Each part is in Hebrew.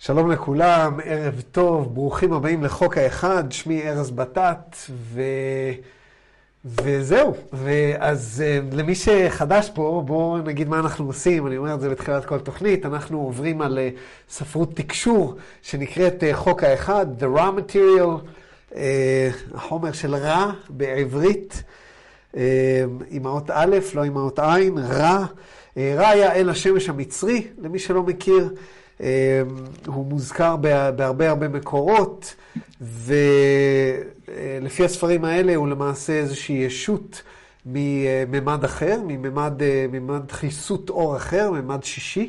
שלום לכולם, ערב טוב, ברוכים הבאים לחוק האחד, שמי ארז בטט, וזהו. אז למי שחדש פה, בואו נגיד מה אנחנו עושים, אני אומר את זה בתחילת כל תוכנית, אנחנו עוברים על ספרות תקשור שנקראת חוק האחד, The Raw Material, החומר של רע בעברית, עם האות א', לא עם האות עין, רע. רע היה אל השמש המצרי, למי שלא מכיר, הוא מוזכר בהרבה מקורות, ולפי הספרים האלה הוא למעשה איזושהי ישות מממד אחר, מממד חיסות אור אחר, ממד שישי,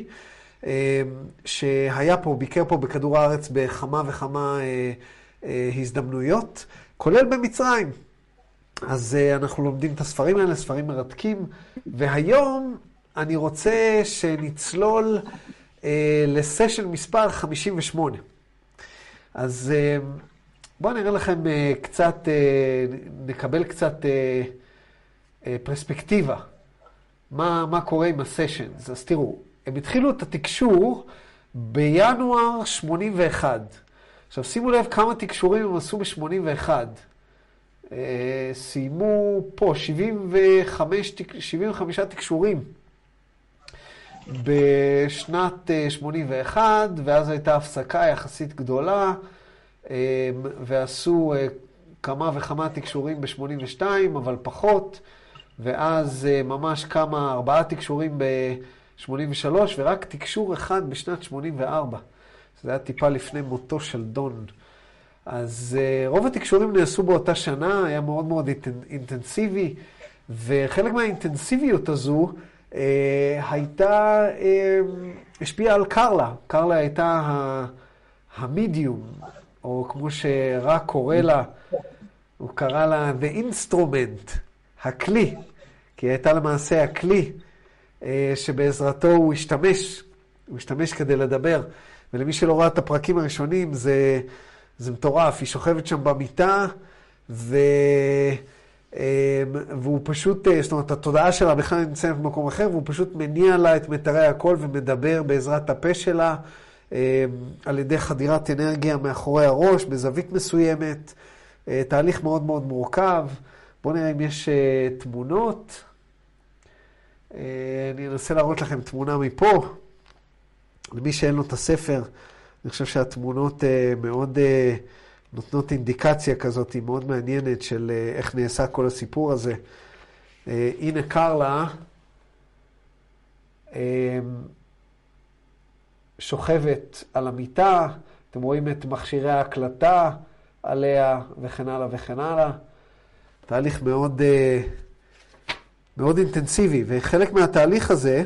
שהיה פה, ביקר פה בכדור הארץ בכמה וכמה הזדמנויות, כולל במצרים. אז אנחנו לומדים את הספרים האלה, ספרים מרתקים, והיום אני רוצה שנצלול לסשן מספר 58. אז בואו נראה לכם קצת, נקבל קצת פרספקטיבה. מה קורה עם הסשנס? אז תראו, הם התחילו את התקשור בינואר 81. עכשיו שימו לב כמה תקשורים הם עשו ב-81. סיימו פה 75 תקשורים. בשנת 81, ואז הייתה הפסקה יחסית גדולה, ועשו כמה וכמה תקשורים ב-82, אבל פחות, ואז ממש 4 תקשורים ב-83, ורק תקשור אחד בשנת 84. זה היה טיפה לפני מותו של דון. אז רוב התקשורים נעשו באותה שנה, היה מאוד אינטנסיבי, וחלק מהאינטנסיביות הזו, השפיעה על קרלה. קרלה הייתה המדיום, או כמו שרק קורא לה, הוא קרא לה the instrument, הכלי, כי היא הייתה למעשה הכלי שבעזרתו הוא השתמש כדי לדבר. ולמי שלא ראה את הפרקים הראשונים, זה מטורף. היא שוכבת שם במיטה, והוא פשוט, זאת אומרת, התודעה שלה בכלל נמצאת במקום אחר, והוא פשוט מניע לה את מטרי הקול ומדבר בעזרת הפה שלה, על ידי חדירת אנרגיה מאחורי הראש, בזווית מסוימת, תהליך מאוד מורכב. בואו נראה אם יש תמונות. אני אנסה להראות לכם תמונה מפה. למי שאין לו את הספר, אני חושב שהתמונות מאוד נותנות אינדיקציה כזאת, היא מאוד מעניינת של איך נעשה כל הסיפור הזה. הנה קרלה שוכבת על המיטה, אתם רואים את מכשירי ההקלטה עליה וכן הלאה וכן הלאה. תהליך מאוד אינטנסיבי, וחלק מהתהליך הזה,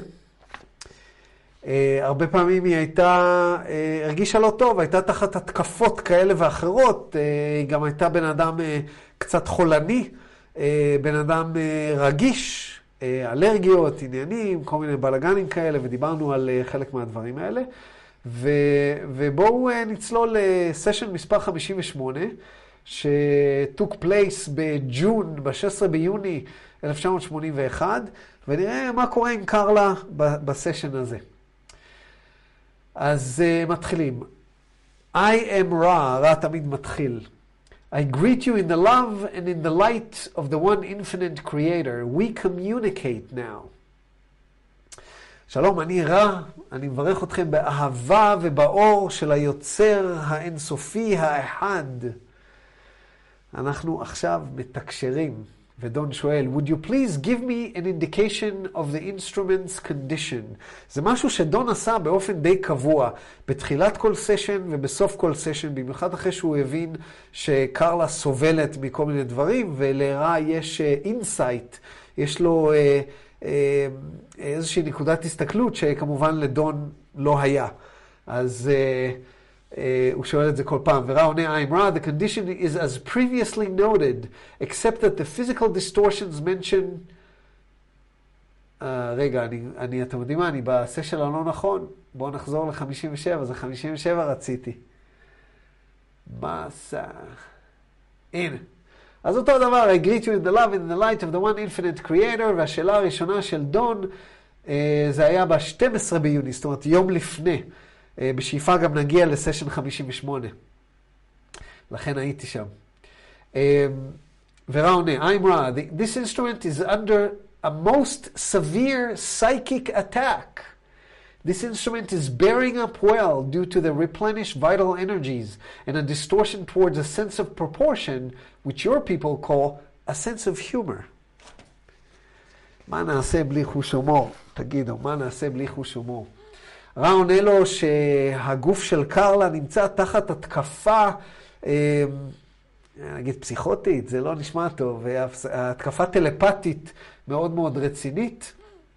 הרבה פעמים היא הרגישה לא טוב, הייתה תחת התקפות כאלה ואחרות, היא גם הייתה בן אדם קצת חולני, בן אדם רגיש, אלרגיות, עניינים, כל מיני בלגנים כאלה, ודיברנו על חלק מהדברים האלה. ובואו נצלול לסשן מספר 58, שטוק פלייס ב-16 ביוני 1981, ונראה מה קורה עם קרלה בסשן הזה. אז מתחילים. I am רע תמיד מתחיל. I greet you in the love and in the light of the one infinite creator. We communicate now. שלום, אני רע. אני מברך אתכם באהבה ובאור של היוצר האינסופי האחד. אנחנו עכשיו מתקשרים. ודון שואל, would you please give me an indication of the instrument's condition? זה משהו שדון עשה באופן די קבוע, בתחילת כל סשן ובסוף כל סשן, במיוחד אחרי שהוא הבין שקרלה סובלת מכל מיני דברים, ולרע יש אינסייט, יש לו איזושהי נקודת הסתכלות שכמובן לדון לא היה. אז הוא שואל את זה כל פעם, ורע עונה, I'm Ra, the condition is as previously noted, except that the physical distortions mentioned... רגע, אתם יודעים מה, אני בסשן הלא נכון, בואו נחזור ל-57, זה 57 רציתי. מסע. הנה. אז אותו דבר, I greet you in the love and in the light of the one infinite creator, והשאלה הראשונה של דון, זה היה ב-12 ביוני, זאת אומרת יום לפני. בשאיפה גם נגיע לסשן 58. לכן הייתי שם. ורה עונה, I'm Ra, this instrument is under a most severe psychic attack. This instrument is bearing up well due to the replenished vital energies and a distortion towards a sense of proportion, which your people call a sense of humor. מה נעשה בלי חוש הומור? תגידו, מה נעשה בלי חוש הומור? רע עונה לו שהגוף של קרלה נמצא תחת התקפה, נגיד פסיכוטית, זה לא נשמע טוב, התקפה טלפתית מאוד מאוד רצינית,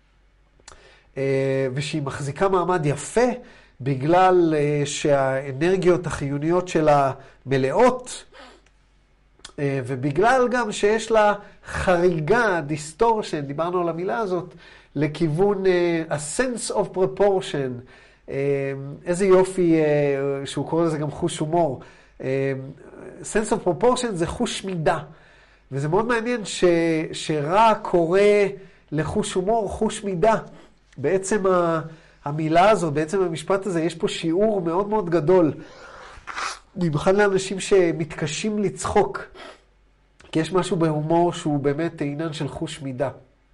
ושהיא מחזיקה מעמד יפה, בגלל שהאנרגיות החיוניות שלה מלאות, ובגלל גם שיש לה חריגה, distortion, דיברנו על המילה הזאת, לכיוון a sense of proportion, איזה יופי שהוא קורא לזה גם חוש הומור. sense of proportion זה חוש מידה, וזה מאוד מעניין שרע קורא לחוש הומור חוש מידה. בעצם המילה הזאת, בעצם המשפט הזה, יש פה שיעור מאוד מאוד גדול. במיוחד לאנשים שמתקשים לצחוק, כי יש משהו בהומור שהוא באמת עניין של חוש מידה.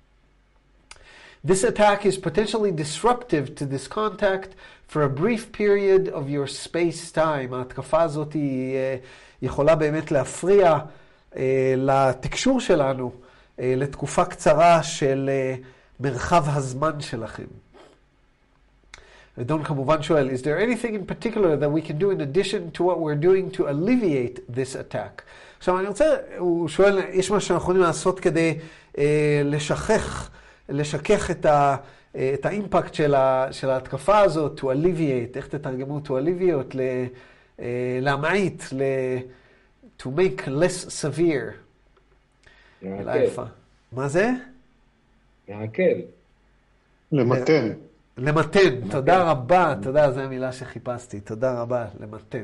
This attack is potentially disruptive to this contact for a brief period of your space-time. ההתקפה הזאת היא יכולה באמת להפריע לתקשור שלנו לתקופה קצרה של מרחב הזמן שלכם. ודון כמובן שואל, is there anything in particular that we can do in addition to what we're doing to alleviate this attack? עכשיו אני רוצה, הוא שואל, יש מה שאנחנו יכולים לעשות כדי לשכך את האימפקט של ההתקפה הזאת, to alleviate, איך תתרגמו to alleviate, להמעיט, to make less severe. להקל. מה זה? להקל. למתן. למתן, תודה רבה, תודה, זו המילה שחיפשתי, תודה רבה, למתן.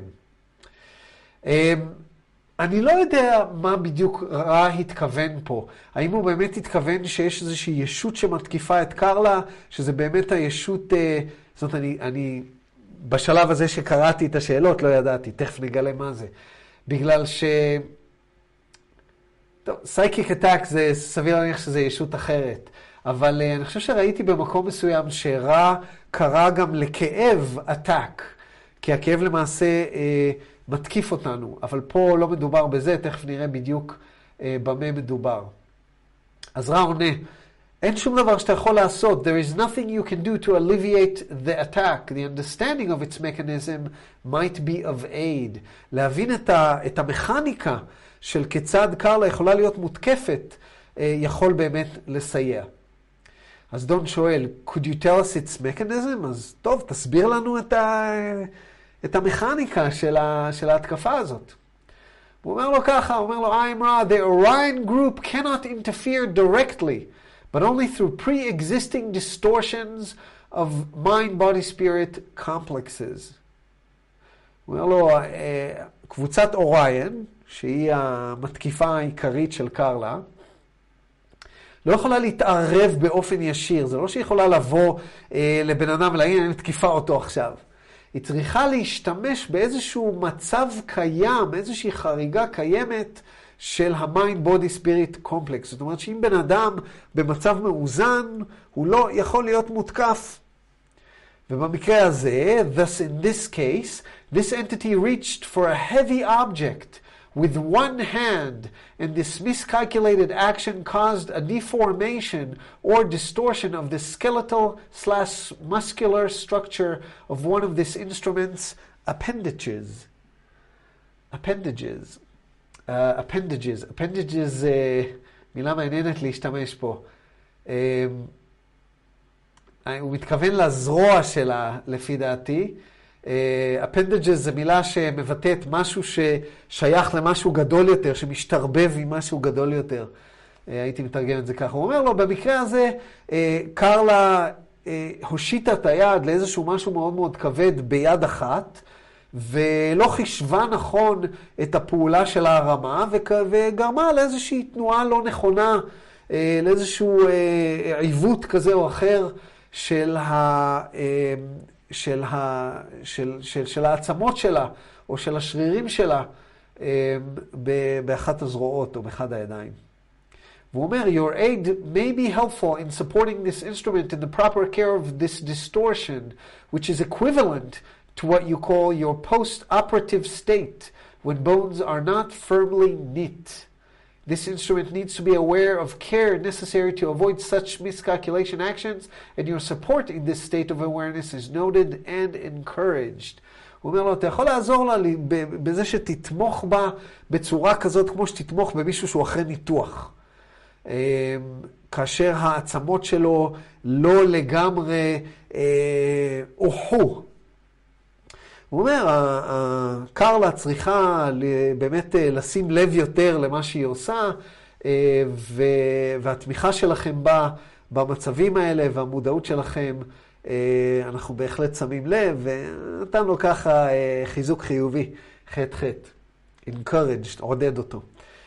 אני לא יודע מה בדיוק רע התכוון פה. האם הוא באמת התכוון שיש איזושהי ישות שמתקיפה את קרלה, שזה באמת הישות, זאת אומרת, אני בשלב הזה שקראתי את השאלות לא ידעתי, תכף נגלה מה זה. בגלל ש... טוב, סייקיק אטאק זה סביר להניח שזה ישות אחרת. אבל אני חושב שראיתי במקום מסוים שרע קרא גם לכאב אטאק, כי הכאב למעשה מתקיף אותנו, אבל פה לא מדובר בזה, תכף נראה בדיוק במה מדובר. אז רע עונה, אין שום דבר שאתה יכול לעשות, there is nothing you can do to alleviate the attack, the understanding of its mechanism might be of aid. להבין את המכניקה של כיצד קרלה יכולה להיות מותקפת, יכול באמת לסייע. אז דון שואל, could you tell us its mechanism? אז טוב, תסביר לנו את המכניקה של ההתקפה הזאת. הוא אומר לו ככה, הוא אומר לו, I'm Ra, the Orion group cannot interfere directly, but only through pre-existing distortions of mind, body, spirit complexes. הוא אומר לו, קבוצת אוריין, שהיא המתקיפה העיקרית של קרלה, לא יכולה להתערב באופן ישיר. זה לא שהיא יכולה לבוא לבן אדם ולהגיד, אני מתקיפה אותו עכשיו. היא צריכה להשתמש באיזשהו מצב קיים, איזושהי חריגה קיימת של ה-mind, body, spirit complex. זאת אומרת שאם בן אדם במצב מאוזן, הוא לא יכול להיות מותקף. ובמקרה הזה, thus in this case, this entity reached for a heavy object with one hand, and this miscalculated action caused a deformation or distortion of the skeletal/muscular structure of one of this instrument's appendages. Appendages זה מילה מעניינת להשתמש פה. הוא מתכוון לזרוע שלה, לפי דעתי. appendages זה מילה שמבטאת משהו ששייך למשהו גדול יותר, שמשתרבב עם משהו גדול יותר. הייתי מתרגם את זה ככה. הוא אומר לו, במקרה הזה, קרלה הושיטה את היד לאיזשהו משהו מאוד מאוד כבד ביד אחת, ולא חישבה נכון את הפעולה של ההרמה, וגרמה לאיזושהי תנועה לא נכונה, לאיזשהו עיוות כזה או אחר של של העצמות שלה, או של השרירים שלה, באחת הזרועות או באחד הידיים. והוא אומר, your aid may be helpful in supporting this instrument in the proper care of this distortion, which is equivalent to what you call your post-operative state, when bones are not firmly knit. This instrument needs to be aware of care necessary to avoid such miscalculation actions, and your support in this state of awareness is noted and encouraged. הוא אומר לו, אתה יכול לעזור לה בזה שתתמוך בה בצורה כזאת, כמו שתתמוך במישהו שהוא אחרי ניתוח. כאשר העצמות שלו לא לגמרי אוחו. הוא אומר, קרלה צריכה באמת לשים לב יותר למה שהיא עושה, והתמיכה שלכם בה במצבים האלה והמודעות שלכם, אנחנו בהחלט שמים לב, ונתן לו ככה חיזוק חיובי, חטא. encouraged, עודד אותו.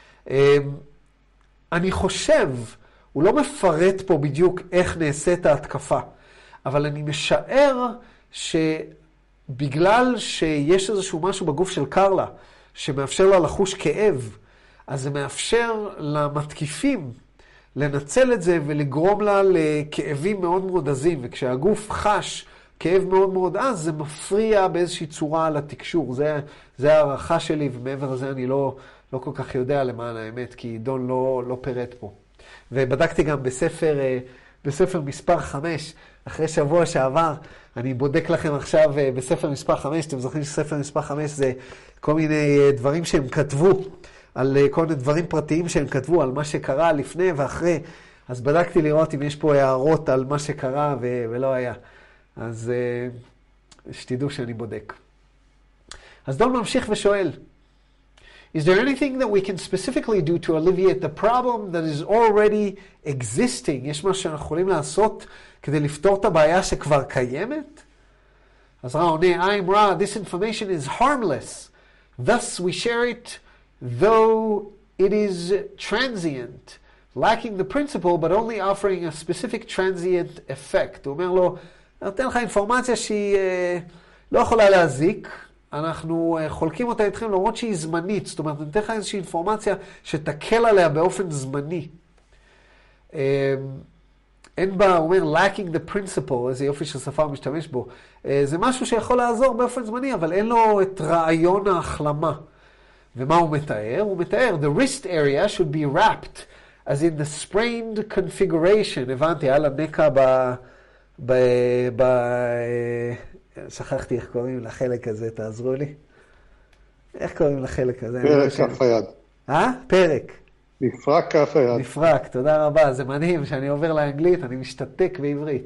אני חושב, הוא לא מפרט פה בדיוק איך נעשית ההתקפה, אבל אני משער שבגלל שיש איזשהו משהו בגוף של קרלה, שמאפשר לה לחוש כאב, אז זה מאפשר למתקיפים לנצל את זה ולגרום לה לכאבים מאוד מאוד עזים, וכשהגוף חש כאב מאוד מאוד עז, זה מפריע באיזושהי צורה לתקשור. זה הערכה שלי, ומעבר לזה אני לא כל כך יודע למען האמת, כי דון לא פירט פה. ובדקתי גם בספר מספר 5, אחרי שבוע שעבר, אני בודק לכם עכשיו בספר מספר 5, אתם זוכרים שספר מספר 5 זה כל מיני דברים שהם כתבו, על כל מיני דברים פרטיים שהם כתבו, על מה שקרה לפני ואחרי. אז בדקתי לראות אם יש פה הערות על מה שקרה ולא היה. אז שתדעו שאני בודק. אז דון ממשיך ושואל, Is there anything that we can specifically do to alleviate the problem that is already existing? יש מה שאנחנו יכולים לעשות כדי לפתור את הבעיה שכבר קיימת? אז רע עונה, I'm Ra, this information is harmless. Thus we share it, though it is transient, lacking the principle, but only offering a specific transient effect. הוא אומר לו, אני נותן לך אינפורמציה שהיא לא יכולה להזיק, אנחנו חולקים אותה איתכם למרות שהיא זמנית, זאת אומרת, נתן לך איזושהי אינפורמציה שתקל עליה באופן זמני. אין בה, הוא אומר, lacking the principle, איזה יופי ששפה משתמש בו. זה משהו שיכול לעזור באופן זמני, אבל אין לו את רעיון ההחלמה. ומה הוא מתאר? הוא מתאר, the wrist area should be wrapped, as in the sprained configuration. הבנתי, היה לה נקע שכחתי איך קוראים לחלק הזה, תעזרו לי. איך קוראים לחלק הזה? פרק כף היד. פרק. מפרק כף היד. מפרק, תודה רבה. זה מדהים שאני עובר לאנגלית, אני משתתק בעברית.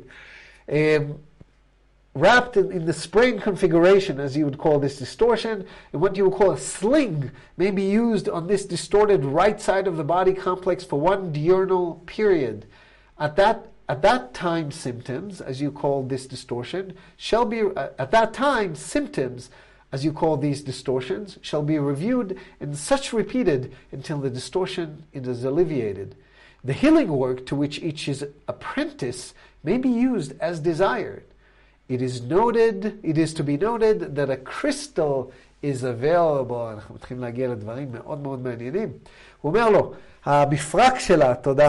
Wrapped in the sprain configuration, as you would call this distortion, and what you would call a sling may be used on this distorted right side of the body complex for one diurnal period. At that time, symptoms, as you call this distortion, shall be, at that time, symptoms, as you call these distortions, shall be reviewed and such repeated until the distortion is alleviated. The healing work to which each is apprentice may be used as desired. It is to be noted that a crystal is available. אנחנו מתחילים להגיע לדברים מאוד מאוד מעניינים. הוא אומר לו, המפרק שלה, תודה,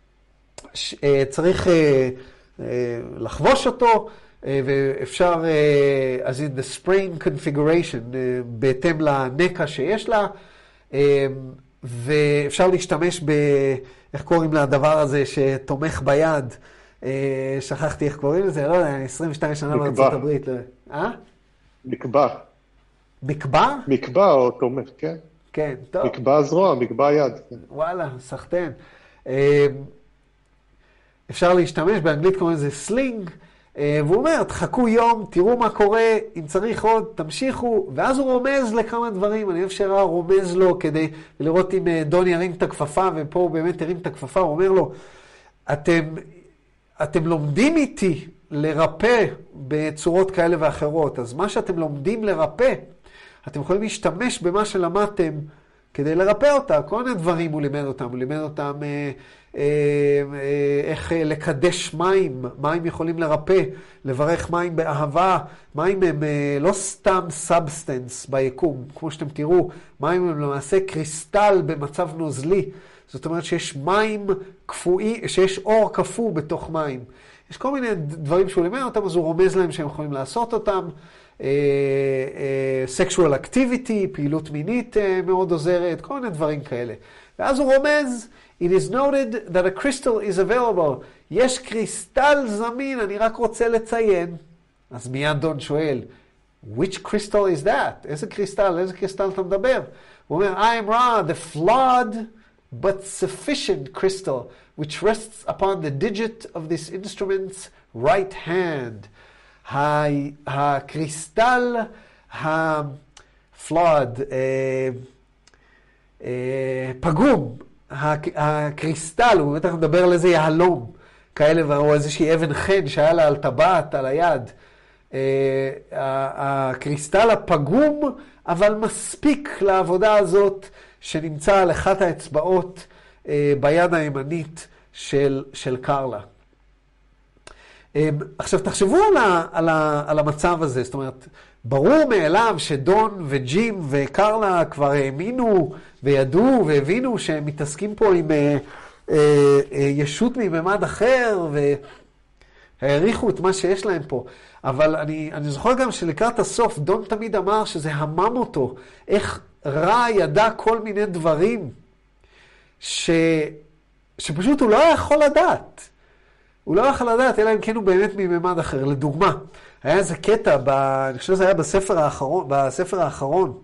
צריך לחבוש אותו, ואפשר, אז in the sprain configuration, בהתאם לנקע שיש לה, ואפשר להשתמש איך קוראים לדבר הזה שתומך ביד, שכחתי איך קוראים לזה, לא יודע, 22 שנה בארצות הברית. מקבע. מקבע? מקבע או תומך, כן. כן, טוב. מקבע זרוע, מקבע יד. וואלה, סחטן. אפשר להשתמש, באנגלית קוראים לזה סלינג, והוא אומר, תחכו יום, תראו מה קורה, אם צריך עוד, תמשיכו, ואז הוא רומז לכמה דברים, אני אוהב רומז לו כדי לראות אם דון ירים את הכפפה, ופה הוא באמת ירים את הכפפה, הוא אומר לו, אתם לומדים איתי לרפא בצורות כאלה ואחרות, אז מה שאתם לומדים לרפא, אתם יכולים להשתמש במה שלמדתם כדי לרפא אותה. כל מיני דברים הוא לימד אותם. הוא לימד אותם איך לקדש מים. מים יכולים לרפא, לברך מים באהבה. מים הם לא סתם סאבסטנס ביקום. כמו שאתם תראו, מים הם למעשה קריסטל במצב נוזלי. זאת אומרת שיש מים קפואי, שיש אור קפוא בתוך מים. יש כל מיני דברים שהוא לימד אותם, אז הוא רומז להם שהם יכולים לעשות אותם. sexual activity, פעילות מינית מאוד עוזרת, כל מיני דברים כאלה. ואז הוא רומז, it is noted that a crystal is available. יש קריסטל זמין, אני רק רוצה לציין. אז מיד דון שואל, which crystal is that? איזה קריסטל אתה מדבר? הוא אומר, I am Ra, the flawed but sufficient crystal, which rests upon the digit of this instrument's right hand. הקריסטל הפלוד, פגום, הקריסטל, הוא בטח מדבר על איזה יהלום, כאלה, או איזושהי אבן חן שהיה לה על טבעת, על היד. הקריסטל הפגום, אבל מספיק לעבודה הזאת, שנמצא על אחת האצבעות ביד הימנית של קרלה. עכשיו, תחשבו על המצב הזה. זאת אומרת, ברור מאליו שדון וג'ים וקרלה כבר האמינו וידעו והבינו שהם מתעסקים פה עם ישות מממד אחר, והעריכו את מה שיש להם פה. אבל אני זוכר גם שלקראת הסוף, דון תמיד אמר שזה המם אותו, איך רע ידע כל מיני דברים שפשוט הוא לא יכול לדעת. הוא לא יכול לדעת, אלא אם כן הוא באמת מממד אחר. לדוגמה, היה איזה קטע, אני חושב שזה היה בספר האחרון,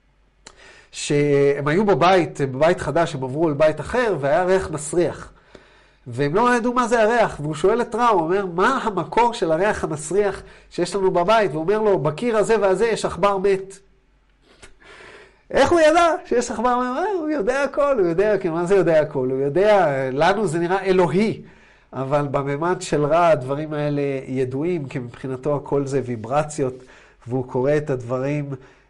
שהם היו בבית חדש, הם עברו לבית אחר, והיה ריח מסריח. והם לא ידעו מה זה הריח, והוא שואל את רע, הוא אומר, מה המקור של הריח המסריח שיש לנו בבית? והוא אומר לו, בקיר הזה והזה יש עכבר מת. איך הוא ידע שיש עכבר מת? הוא יודע הכל, הוא יודע, כי מה זה יודע הכל? הוא יודע, לנו זה נראה אלוהי. אבל בממד של רע הדברים האלה ידועים, כי מבחינתו הכל זה ויברציות, והוא קורא את הדברים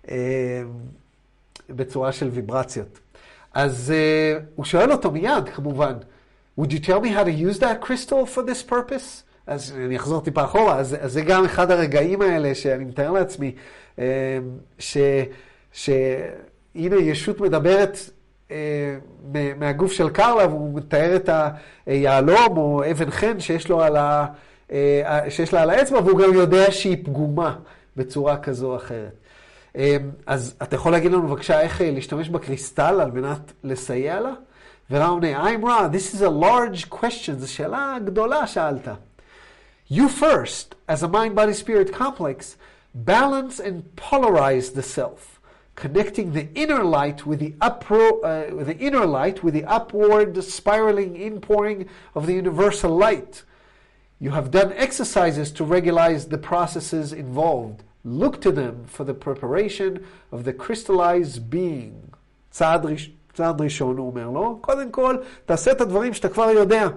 בצורה של ויברציות. אז הוא שואל אותו מיד, כמובן, Would you tell me how to use that crystal for this purpose? אז אני אחזור טיפה אחורה, אז זה גם אחד הרגעים האלה שאני מתאר לעצמי, שהנה ישות מדברת מהגוף של קרלה, והוא מתאר את היעלום או אבן חן שיש לה על האצבע, והוא גם יודע שהיא פגומה בצורה כזו או אחרת. אז אתה יכול להגיד לנו בבקשה איך להשתמש בקריסטל על מנת לסייע לה? ורע עונה, I'm Ra, this is a large question, זו שאלה גדולה שאלת. You first, as a mind-body-spirit complex, balance and polarize the self, connecting the inner light with the upward spiraling inpouring of the universal light. You have done exercises to regularize the processes involved. Look to them for the preparation of the crystallized being. צעד ראשון, הוא אומר לו, קודם כל, תעשה את הדברים שאתה כבר יודע.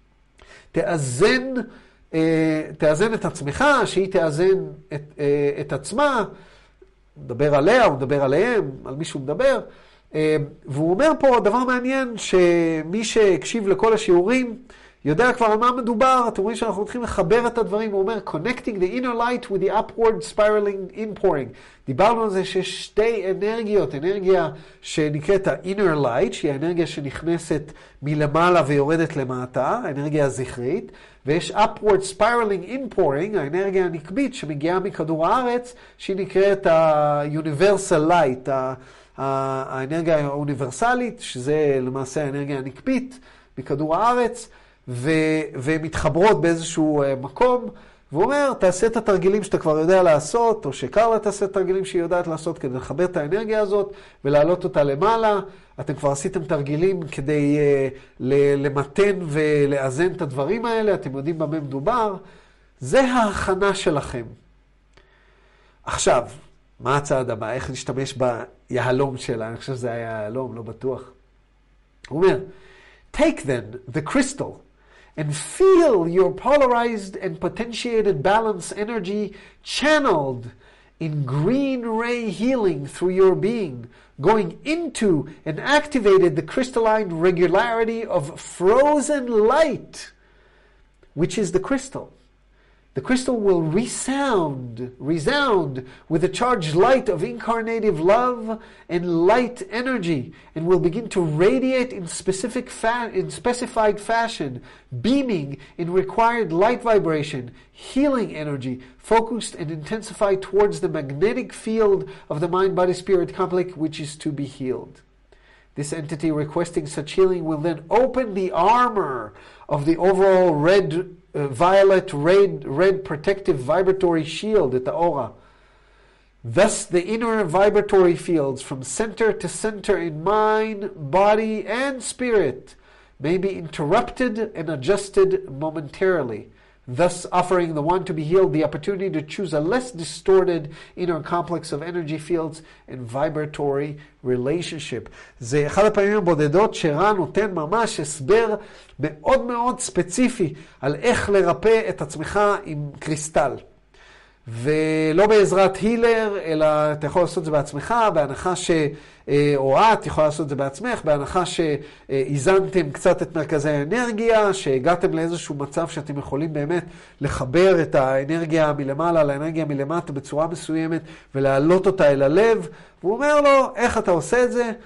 תאזן את עצמך, שהיא תאזן את עצמה, מדבר עליה, הוא מדבר עליהם, על מי שהוא מדבר. והוא אומר פה דבר מעניין, שמי שהקשיב לכל השיעורים, יודע כבר על מה מדובר. אתם רואים שאנחנו צריכים לחבר את הדברים. הוא אומר, connecting the inner light with the upward spiraling inpouring. דיברנו על זה שיש שתי אנרגיות. אנרגיה שנקראת ה-inner light, שהיא האנרגיה שנכנסת מלמעלה ויורדת למטה, האנרגיה הזכרית. ויש upward spiraling inpouring, האנרגיה הנקבית שמגיעה מכדור הארץ, שהיא נקראת ה-universal light, האנרגיה האוניברסלית, שזה למעשה האנרגיה הנקבית מכדור הארץ. ומתחברות באיזשהו מקום, והוא אומר, תעשה את התרגילים שאתה כבר יודע לעשות, או שקרלה תעשה את התרגילים שהיא יודעת לעשות, כדי לחבר את האנרגיה הזאת, ולהעלות אותה למעלה. אתם כבר עשיתם תרגילים כדי למתן ולאזן את הדברים האלה, אתם יודעים במה מדובר. זה ההכנה שלכם. עכשיו, מה הצעד הבא? איך נשתמש ביהלום שלה? אני חושב שזה היה יהלום, לא בטוח. הוא אומר, take then the crystal, and feel your polarized and potentiated balance energy channeled in green ray healing through your being, going into and activated the crystalline regularity of frozen light, which is the crystal. The crystal will resound with the charged light of incarnative love and light energy, and will begin to radiate in specified fashion, beaming in required light vibration, healing energy, focused and intensified towards the magnetic field of the mind-body-spirit complex, which is to be healed. This entity requesting such healing will then open the armor of the overall violet red protective vibratory shield at the aura. Thus the inner vibratory fields from center to center in mind, body, and spirit may be interrupted and adjusted momentarily, thus offering the one to be healed the opportunity to choose a less distorted inner complex of energy fields and vibratory relationship. זה אחד הפעמים הבודדות שרן נותן ממש הסבר מאוד מאוד ספציפי על איך לרפא את עצמך עם קריסטל. ולא בעזרת הילר, אלא אתה יכול לעשות את זה בעצמך, בהנחה או את יכולה לעשות את זה בעצמך, בהנחה שאיזנתם קצת את מרכזי האנרגיה, שהגעתם לאיזשהו מצב שאתם יכולים באמת לחבר את האנרגיה מלמעלה לאנרגיה מלמטה בצורה מסוימת, ולהעלות אותה אל הלב. והוא אומר לו, איך אתה עושה את זה?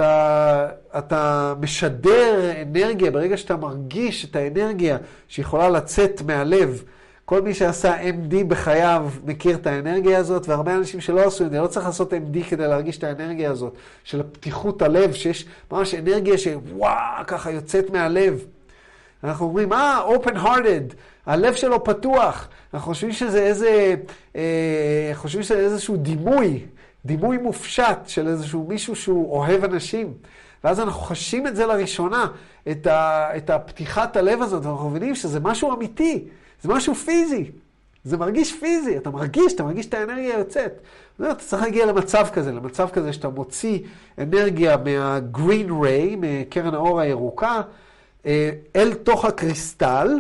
אתה משדר אנרגיה, ברגע שאתה מרגיש את האנרגיה שיכולה לצאת מהלב. כל מי שעשה MD בחייו מכיר את האנרגיה הזאת, והרבה אנשים שלא עשו את זה, לא צריך לעשות MD כדי להרגיש את האנרגיה הזאת, של הפתיחות הלב, שיש ממש אנרגיה שוואו, ככה יוצאת מהלב. אנחנו אומרים, open hearted, הלב שלו פתוח. אנחנו חושבים שזה איזשהו דימוי מופשט של איזשהו מישהו שהוא אוהב אנשים. ואז אנחנו חשים את זה לראשונה, את הפתיחת הלב הזאת, ואנחנו מבינים שזה משהו אמיתי. זה משהו פיזי, זה מרגיש פיזי, אתה מרגיש את האנרגיה יוצאת. אתה צריך להגיע למצב כזה שאתה מוציא אנרגיה מה-green ray, מקרן האור הירוקה, אל תוך הקריסטל,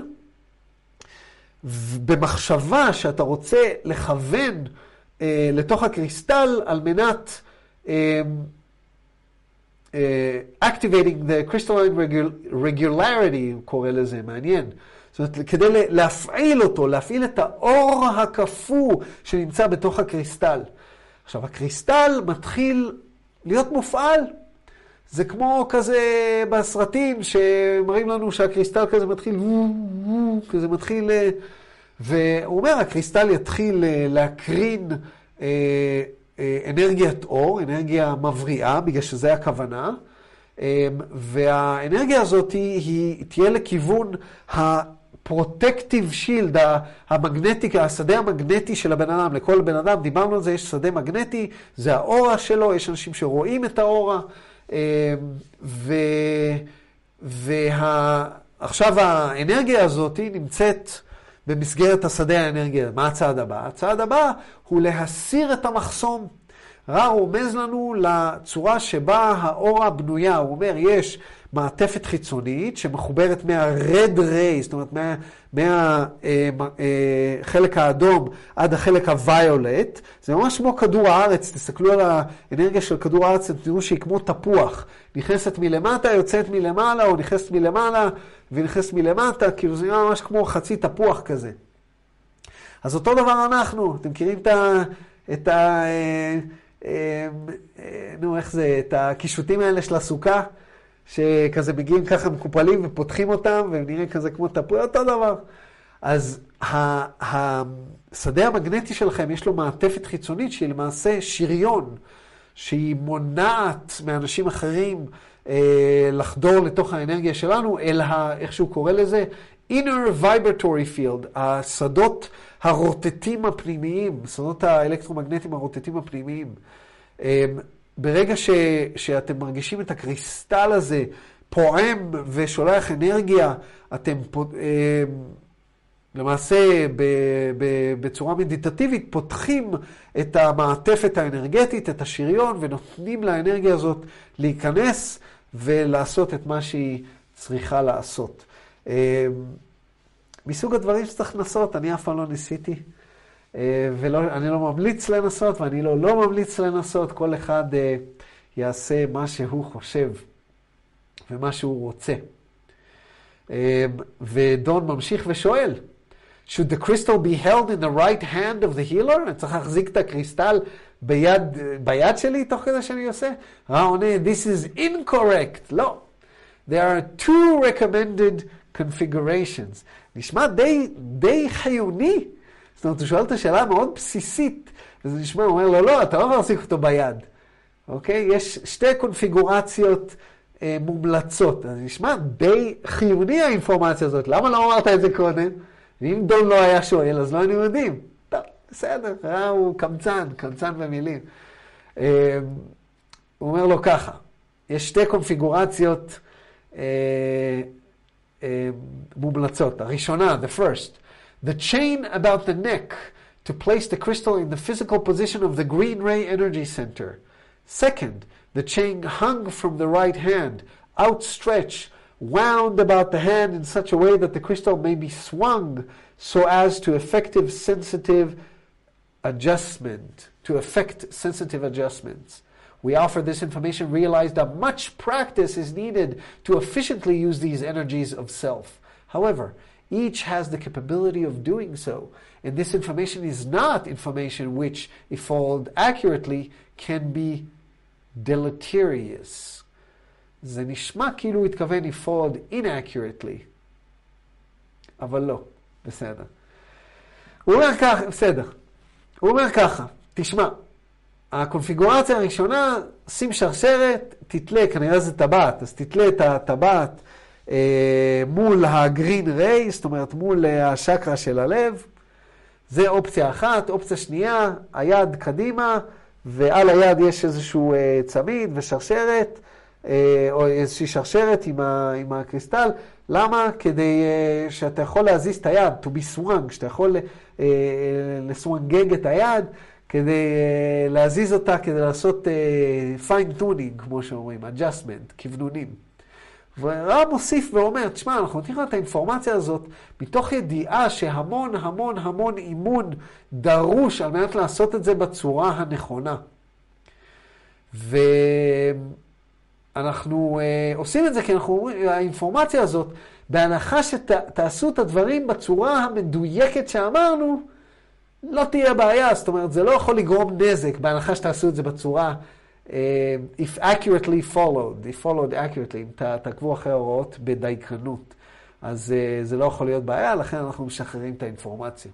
במחשבה שאתה רוצה לכוון לתוך הקריסטל על מנת activating the crystalline regularity, הוא קורא לזה, מעניין. זאת אומרת, כדי להפעיל את האור הקפוא שנמצא בתוך הקריסטל. עכשיו, הקריסטל מתחיל להיות מופעל. זה כמו כזה בסרטים שמראים לנו שהקריסטל כזה מתחיל, והוא אומר, הקריסטל יתחיל להקרין אנרגיית אור, אנרגיה מבריאה, בגלל שזה הכוונה, והאנרגיה הזאת היא תהיה לכיוון הפרוטקטיב שילד, השדה המגנטי של הבן אדם. לכל בן אדם, דיברנו על זה, יש שדה מגנטי, זה האורה שלו, יש אנשים שרואים את האורה, עכשיו האנרגיה הזאת נמצאת במסגרת השדה האנרגיה. מה הצעד הבא? הצעד הבא הוא להסיר את המחסום. הוא רומז לנו לצורה שבה האורה בנויה. הוא אומר, יש מעטפת חיצונית שמחוברת מה-red ray, זאת אומרת, מהחלק האדום עד החלק הוויולט. זה ממש כמו כדור הארץ. תסתכלו על האנרגיה של כדור הארץ, תראו שהיא כמו תפוח. נכנסת מלמטה, יוצאת מלמעלה, או נכנסת מלמעלה ונכנסת מלמטה, כאילו זה ממש כמו חצי תפוח כזה. אז אותו דבר אנחנו. אתם מכירים את הקישוטים האלה של הסוכה, שכזה מגיעים ככה מקופלים ופותחים אותם, והם נראים כזה כמו תפוח, אותו דבר. אז השדה המגנטי שלכם יש לו מעטפת חיצונית שהיא למעשה שריון, שהיא מונעת מאנשים אחרים לחדור לתוך האנרגיה שלנו, אל איך שהוא קורא לזה, inner vibratory field, השדות הרוטטים הפנימיים, שדות האלקטרומגנטיים הרוטטים הפנימיים. ברגע שאתם מרגישים את הקריסטל הזה פועם ושולח אנרגיה, אתם למעשה בצורה מדיטטיבית פותחים את המעטפת האנרגטית, את השריון, ונותנים לאנרגיה הזאת להיכנס ולעשות את מה שהיא צריכה לעשות. מסוג הדברים שצריך לנסות, אני אף פעם לא ניסיתי. ואני לא ממליץ לנסות, ואני לא ממליץ לנסות, כל אחד יעשה מה שהוא חושב ומה שהוא רוצה. ודון ממשיך ושואל, should the crystal be held in the right hand of the healer? אני צריך להחזיק את הקריסטל ביד שלי תוך כדי שאני עושה? עונה, this is incorrect. לא. There are two recommended configurations. נשמע די חיוני. זאת אומרת, הוא שואל את השאלה מאוד בסיסית, וזה נשמע, הוא אומר לו, לא, אתה לא יכול להחזיק אותו ביד. אוקיי? יש שתי קונפיגורציות מומלצות. אז נשמע די חיוני האינפורמציה הזאת. למה לא אמרת את זה קודם? ואם דון לא היה שואל, אז לא היינו יודעים. טוב, בסדר, הוא קמצן במילים. הוא אומר לו ככה, יש שתי קונפיגורציות מומלצות. הראשונה, the first, the chain about the neck to place the crystal in the physical position of the green ray energy center. Second, the chain hung from the right hand, outstretched, wound about the hand in such a way that the crystal may be swung so as to affect sensitive adjustments. We offer this information, realize that much practice is needed to efficiently use these energies of self. However, each has the capability of doing so, and this information is not information which, if followed accurately, can be deleterious. זה נשמע כאילו הוא התכוון לפעול inaccurately, אבל לא, בסדר. הוא אומר ככה, בסדר. הוא אומר ככה, תשמע, הקונפיגורציה הראשונה, שים שרשרת, תתלה, כנראה זה טבעת, אז תתלה את הטבעת מול הגרין ריי, זאת אומרת מול השקרה של הלב. זה אופציה אחת. אופציה שנייה, היד קדימה, ועל היד יש איזשהו צמיד ושרשרת, או איזושהי שרשרת עם הקריסטל. למה? כדי שאתה יכול להזיז את היד, to be swung, שאתה יכול לסוונגג את היד, כדי להזיז אותה, כדי לעשות fine tuning, כמו שאומרים, adjustment, כוונונים. ורב מוסיף ואומר, תשמע, אנחנו נותנים את האינפורמציה הזאת, מתוך ידיעה שהמון המון המון אימון דרוש על מנת לעשות את זה בצורה הנכונה. ואנחנו עושים את זה כי אנחנו אומרים, האינפורמציה הזאת, בהנחה שתעשו את הדברים בצורה המדויקת שאמרנו, לא תהיה בעיה. זאת אומרת, זה לא יכול לגרום נזק, בהנחה שתעשו את זה בצורה, if accurately followed, if followed accurately, אם תעקבו אחרי ההוראות בדייקנות, אז זה לא יכול להיות בעיה, לכן אנחנו משחררים את האינפורמציה.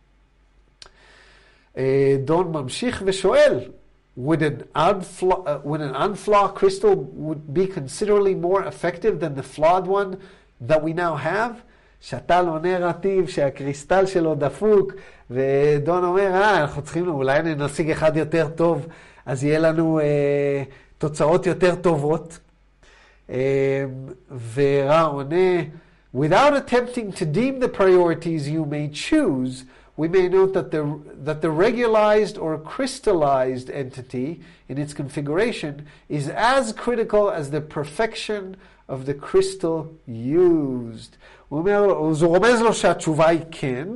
דון ממשיך ושואל, would an unflawed crystal would be considerably more effective than the flawed one that we now have? שתל עונה רטיב שהקריסטל שלו דפוק, ודון אומר, אנחנו צריכים, אולי נשיג אחד יותר טוב, אז יהיה לנו תוצאות יותר טובות. ורע עונה, without attempting to deem the priorities you may choose, we may note that the regularized or crystallized entity in its configuration is as critical as the perfection of the crystal used. הוא רומז לו שהתשובה היא כן,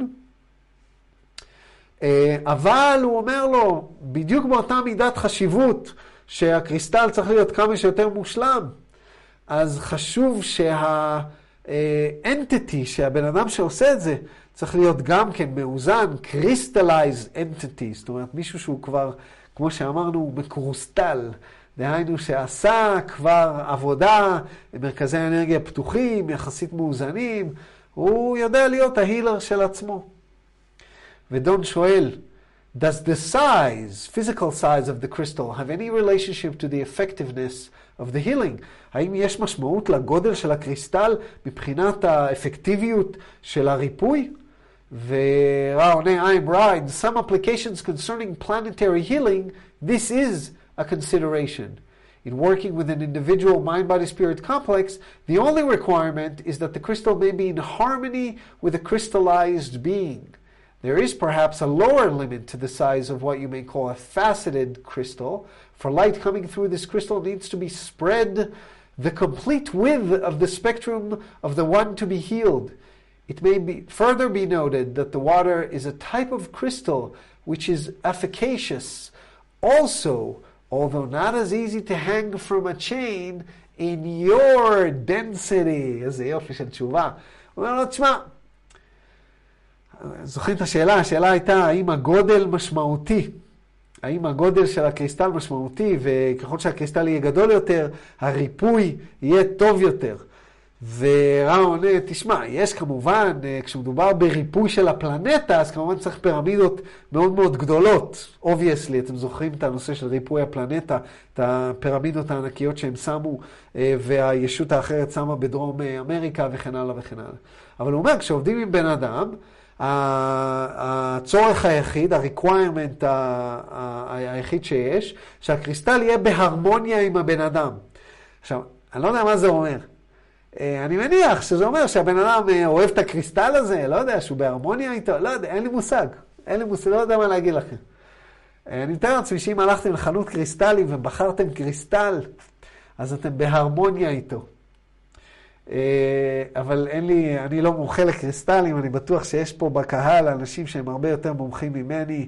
אבל הוא אומר לו, בדיוק באותה מידת חשיבות שהקריסטל צריך להיות כמה שיותר מושלם, אז חשוב שהאנטיטי, שהבן אדם שעושה את זה, צריך להיות גם כן מאוזן, crystallized entity, זאת אומרת מישהו שהוא כבר, כמו שאמרנו, מקרוסטל, דהיינו שעשה כבר עבודה, מרכזי האנרגיה פתוחים, יחסית מאוזנים, הוא יודע להיות ההילר של עצמו. ודון שואל, does the size, physical size of the crystal have any relationship to the effectiveness of the healing? האם יש משמעות לגודל של הקריסטל מבחינת האפקטיביות של הריפוי? ורע עונה, I'm right. In some applications concerning planetary healing, this is a consideration. In working with an individual mind-body-spirit complex, the only requirement is that the crystal may be in harmony with a crystallized being. There is perhaps a lower limit to the size of what you may call a faceted crystal. For light coming through this crystal needs to be spread the complete width of the spectrum of the one to be healed. It may be further be noted that the water is a type of crystal which is efficacious. Also, although not as easy to hang from a chain in your density. איזה יופי של תשובה. הוא אומר לו, תשמע, זוכרים את השאלה? השאלה הייתה, האם הגודל משמעותי? האם הגודל של הקריסטל משמעותי, וככל שהקריסטל יהיה גדול יותר, הריפוי יהיה טוב יותר. ורם עונה, תשמע, יש כמובן, כשמדובר בריפוי של הפלנטה, אז כמובן צריך פירמידות מאוד מאוד גדולות. Obviously, אתם זוכרים את הנושא של ריפוי הפלנטה, את הפירמידות הענקיות שהם שמו, והישות האחרת שמה בדרום אמריקה וכן הלאה וכן הלאה. אבל הוא אומר, כשעובדים עם בן אדם, הצורך היחיד, ה-requirement היחיד שיש, שהקריסטל יהיה בהרמוניה עם הבן אדם. עכשיו, אני לא יודע מה זה אומר. אני מניח שזה אומר שהבן אדם אוהב את הקריסטל הזה, לא יודע, שהוא בהרמוניה איתו, לא יודע, אין לי מושג, לא יודע מה להגיד לכם. אני מתאר לעצמי שאם הלכתם לחנות קריסטלים ובחרתם קריסטל, אז אתם בהרמוניה איתו. אבל אני לא מומחה לקריסטלים, אני בטוח שיש פה בקהל אנשים שהם הרבה יותר מומחים ממני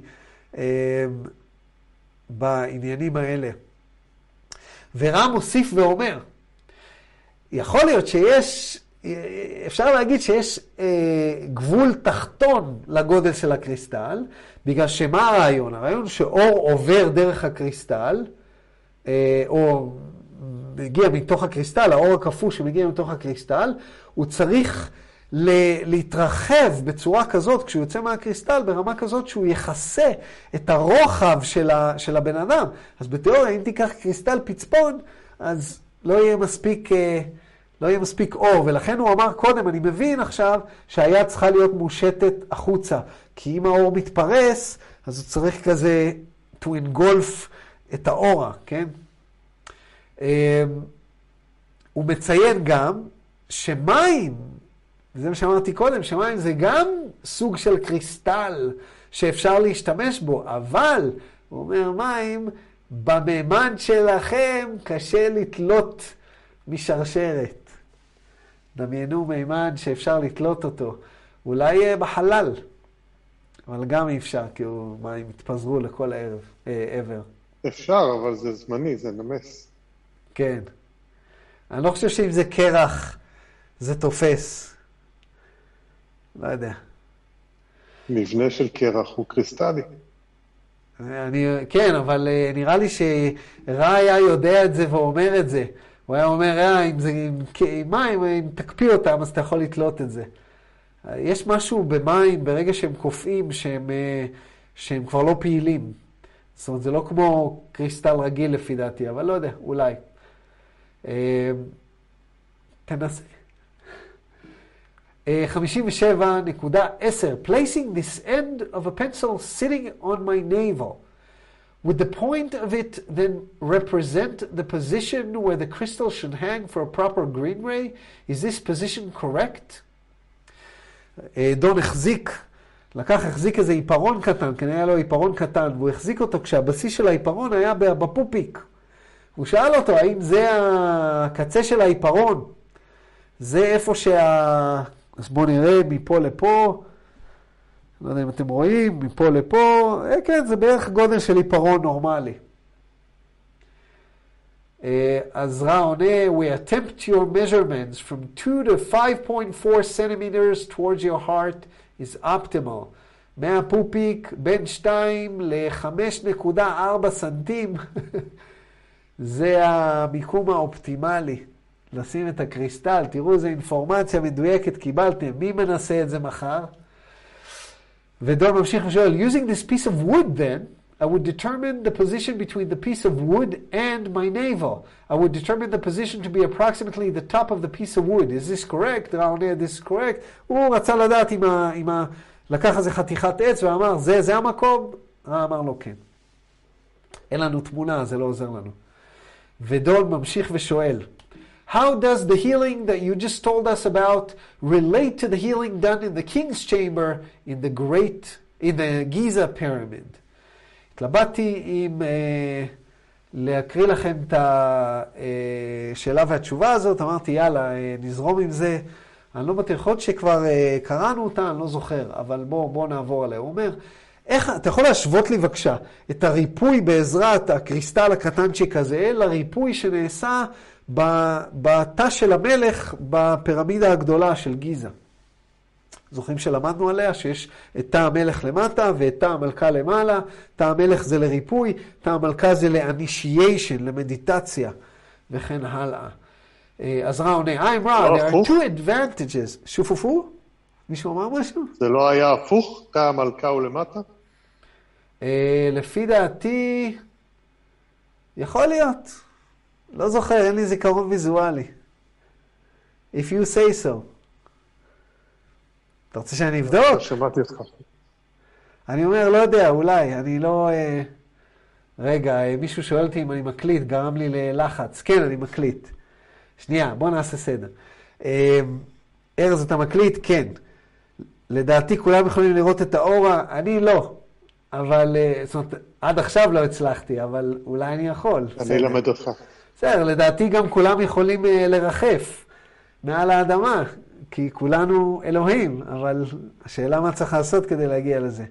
בעניינים האלה. ורם מוסיף ואומר, יכול להיות אפשר להגיד שיש גבול תחתון לגודל של הקריסטל, בגלל שמה הרעיון? הרעיון שאור עובר דרך הקריסטל, או מגיע מתוך הקריסטל, האור הקפוא שמגיע מתוך הקריסטל, הוא צריך להתרחב בצורה כזאת, כשהוא יוצא מהקריסטל, ברמה כזאת שהוא יחסה את הרוחב של הבן אדם. אז בתיאוריה, אם תיקח קריסטל פצפון, אז לא יהיה מספיק אור, ולכן הוא אמר קודם, אני מבין עכשיו שהיד צריכה להיות מושטת החוצה, כי אם האור מתפרס, אז הוא צריך כזה to engulf את האורה, כן? הוא מציין גם שמים, וזה מה שאמרתי קודם, שמים זה גם סוג של קריסטל שאפשר להשתמש בו, אבל, הוא אומר, מים, במימן שלכם קשה לתלות משרשרת. דמיינו מימן שאפשר לתלות אותו. אולי בחלל, אבל גם אי אפשר, כי מים התפזרו לכל עבר. אפשר, אבל זה זמני, זה נמס. כן. אני לא חושב שאם זה קרח, זה תופס. לא יודע. מבנה של קרח הוא קריסטלי. כן, אבל נראה לי שרע היה יודע את זה ואומר את זה. הוא היה אומר, אם מים, אם תקפיא אותם, אז אתה יכול לתלות את זה. יש משהו במים, ברגע שהם קופאים, שהם כבר לא פעילים. זאת אומרת, זה לא כמו קריסטל רגיל לפי דעתי, אבל לא יודע, אולי. תנסה. 57.10 Placing this end of a pencil sitting on my navel. Would the point of it then represent the position where the crystal should hang for a proper green ray? Is this position correct? דון החזיק איזה עיפרון קטן, כנראה היה לו עיפרון קטן, והוא החזיק אותו כשהבסיס של העיפרון היה בפופיק. הוא שאל אותו, האם זה הקצה של העיפרון? זה איפה אז בואו נראה מפה לפה. לא יודע אם אתם רואים, מפה לפה. כן, זה בערך גודל של עיפרון נורמלי. אז רע עונה, we attempt your measurements from 2 to 5.4 centimeters towards your heart is optimal. מהפופיק בין 2 ל-5.4 סנטים. זה המיקום האופטימלי. לשים את הקריסטל. תראו, זו אינפורמציה מדויקת קיבלתם. מי מנסה את זה מחר? ודון ממשיך ושואל, using this piece of wood then, I would determine the position between the piece of wood and my navel. I would determine the position to be approximately the top of the piece of wood. Is this correct? רעונה, this is correct. הוא רצה לדעת אם לקח איזה חתיכת עץ ואמר, זה המקום? אמר לו כן. אין לנו תמונה, זה לא עוזר לנו. ודון ממשיך ושואל, how does the healing that you just told us about relate to the healing done in the king's chamber in the Giza pyramid? התלבטתי אם להקריא לכם את השאלה והתשובה הזאת, אמרתי יאללה, נזרום עם זה. אני לא בטוח, יכול להיות שכבר קראנו אותה, אני לא זוכר, אבל בוא נעבור עליה. הוא אומר, אתה יכול להשוות לי בבקשה את הריפוי בעזרת הקריסטל הקטנצ'יק הזה, לריפוי שנעשה בתא של המלך בפירמידה הגדולה של גיזה. זוכרים שלמדנו עליה שיש את תא המלך למטה ואת תא המלכה למעלה. תא המלך זה לריפוי, תא המלכה זה לאנישיישן, למדיטציה וכן הלאה. אז רע עונה, I'm Ra, there are two advantages. שופופו? מישהו אמר משהו? זה לא היה הפוך? תא המלכה הוא למטה? לפי דעתי, יכול להיות. לא זוכר, אין לי זיכרון ויזואלי. If you say so. אתה רוצה שאני אבדוק? שמעתי אותך. אני אומר, לא יודע, אולי, אני לא... רגע, מישהו שואל אותי אם אני מקליט, גרם לי ללחץ. כן, אני מקליט. שנייה, בוא נעשה סדר. ארז, אתה מקליט? כן. לדעתי כולם יכולים לראות את האורה, אני לא. אבל, זאת אומרת, עד עכשיו לא הצלחתי, אבל אולי אני יכול. אני אלמד אותך. בסדר, לדעתי גם כולם יכולים לרחף מעל האדמה, כי כולנו אלוהים, אבל השאלה מה צריך לעשות כדי להגיע לזה.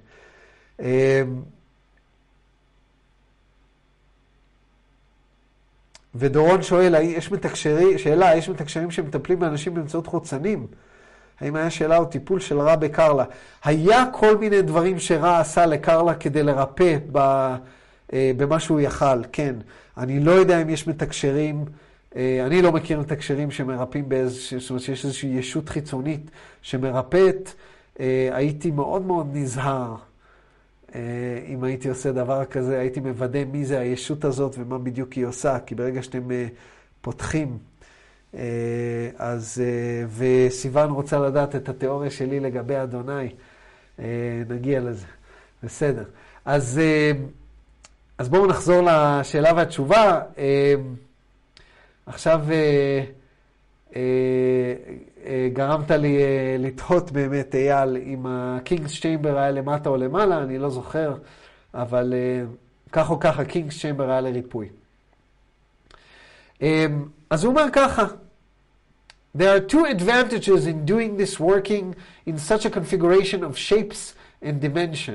ודורון שואל, יש מתקשרים שמטפלים באנשים באמצעות חוצנים? האם היה שאלה או טיפול של רע בקרלה? היה כל מיני דברים שרע עשה לקרלה כדי לרפא במה שהוא יכל, כן. אני לא יודע אם יש מתקשרים, אני לא מכיר מתקשרים שמרפאים זאת אומרת שיש איזושהי ישות חיצונית שמרפאת. הייתי מאוד מאוד נזהר. אם הייתי עושה דבר כזה, הייתי מוודא מי זה הישות הזאת ומה בדיוק היא עושה, כי ברגע שאתם פותחים, אז, וסיוון רוצה לדעת את התיאוריה שלי לגבי אדוני, נגיע לזה. בסדר. אז בואו נחזור לשאלה והתשובה. עכשיו גרמת לי לתהות באמת, אייל, אם הקינגס צ'יימבר היה למטה או למעלה, אני לא זוכר, אבל כך או כך הקינגס צ'יימבר היה לריפוי. אז הוא אומר ככה, There are two advantages in doing this working in such a configuration of shapes and dimension.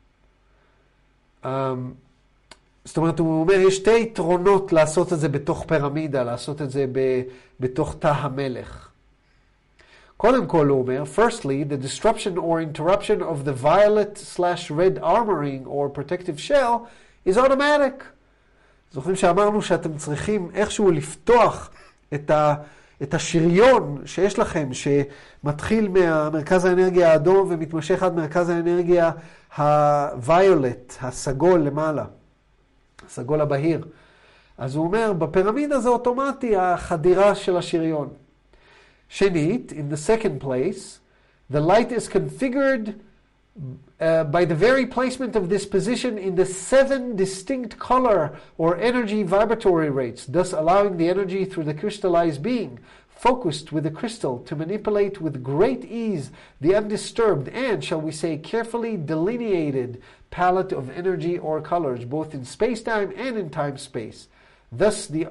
זאת אומרת, הוא אומר, יש שתי יתרונות לעשות את זה בתוך פירמידה, לעשות את זה בתוך תא המלך. קודם כל הוא אומר, firstly, the disruption or interruption of the violet/red armoring or protective shell is automatic. זוכרים שאמרנו שאתם צריכים איכשהו לפתוח את השריון שיש לכם, שמתחיל מהמרכז האנרגיה האדום ומתמשך עד מרכז האנרגיה הוויולט, הסגול למעלה, הסגול הבהיר. אז הוא אומר, בפירמידה זה אוטומטי החדירה של השריון. שנית, in the second place, the light is configured by the very placement of this position in the 7 distinct color or energy vibratory rates, thus allowing the energy through the crystallized being, focused with the crystal, to manipulate with great ease the undisturbed and, shall we say, carefully delineated palette of energy or colors, both in space-time and in time-space. Thus, the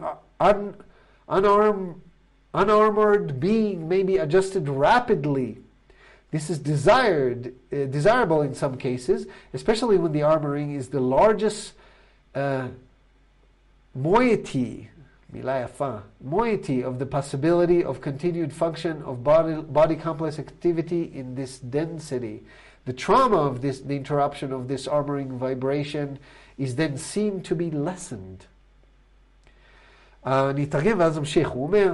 unarmored being may be adjusted rapidly. This is desirable in some cases, especially when the armoring is the largest moiety of the possibility of continued function of body complex activity in this density. The trauma of the interruption of this armoring vibration is then seen to be lessened. אני אתרגם ואז אמשיך. הוא אומר,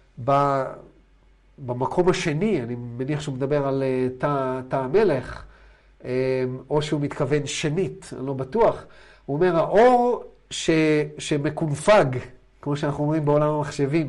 במקום השני, אני מניח שהוא מדבר על תא המלך, או שהוא מתכוון שנית, אני לא בטוח. הוא אומר, האור שמקונפג, כמו שאנחנו אומרים בעולם המחשבים,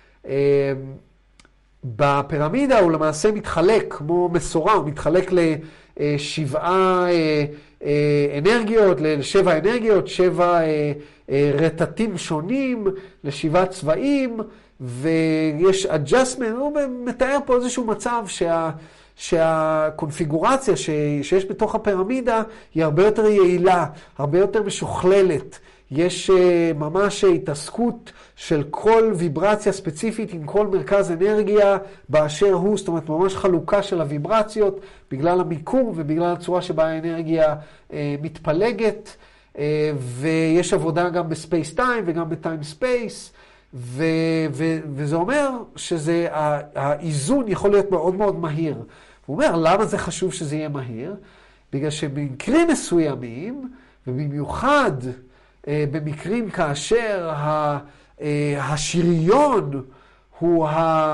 בפירמידה הוא למעשה מתחלק, כמו מסורה, הוא מתחלק לשבעה אנרגיות, לשבע אנרגיות, 7 רטטים שונים, ל7 צבעים, ויש adjustment, הוא מתאר פה איזשהו מצב שהקונפיגורציה שיש בתוך הפירמידה היא הרבה יותר יעילה, הרבה יותר משוכללת, יש ממש התעסקות של כל ויברציה ספציפית עם כל מרכז אנרגיה באשר הוא, זאת אומרת ממש חלוקה של הוויברציות בגלל המיקום ובגלל הצורה שבה האנרגיה מתפלגת, ויש עבודה גם בספייס טיים וגם בטיים ספייס, וזה אומר שזה, האיזון יכול להיות מאוד מאוד מהיר. הוא אומר, למה זה חשוב שזה יהיה מהיר? בגלל שבמקרים מסוימים, ובמיוחד במקרים כאשר השריון הוא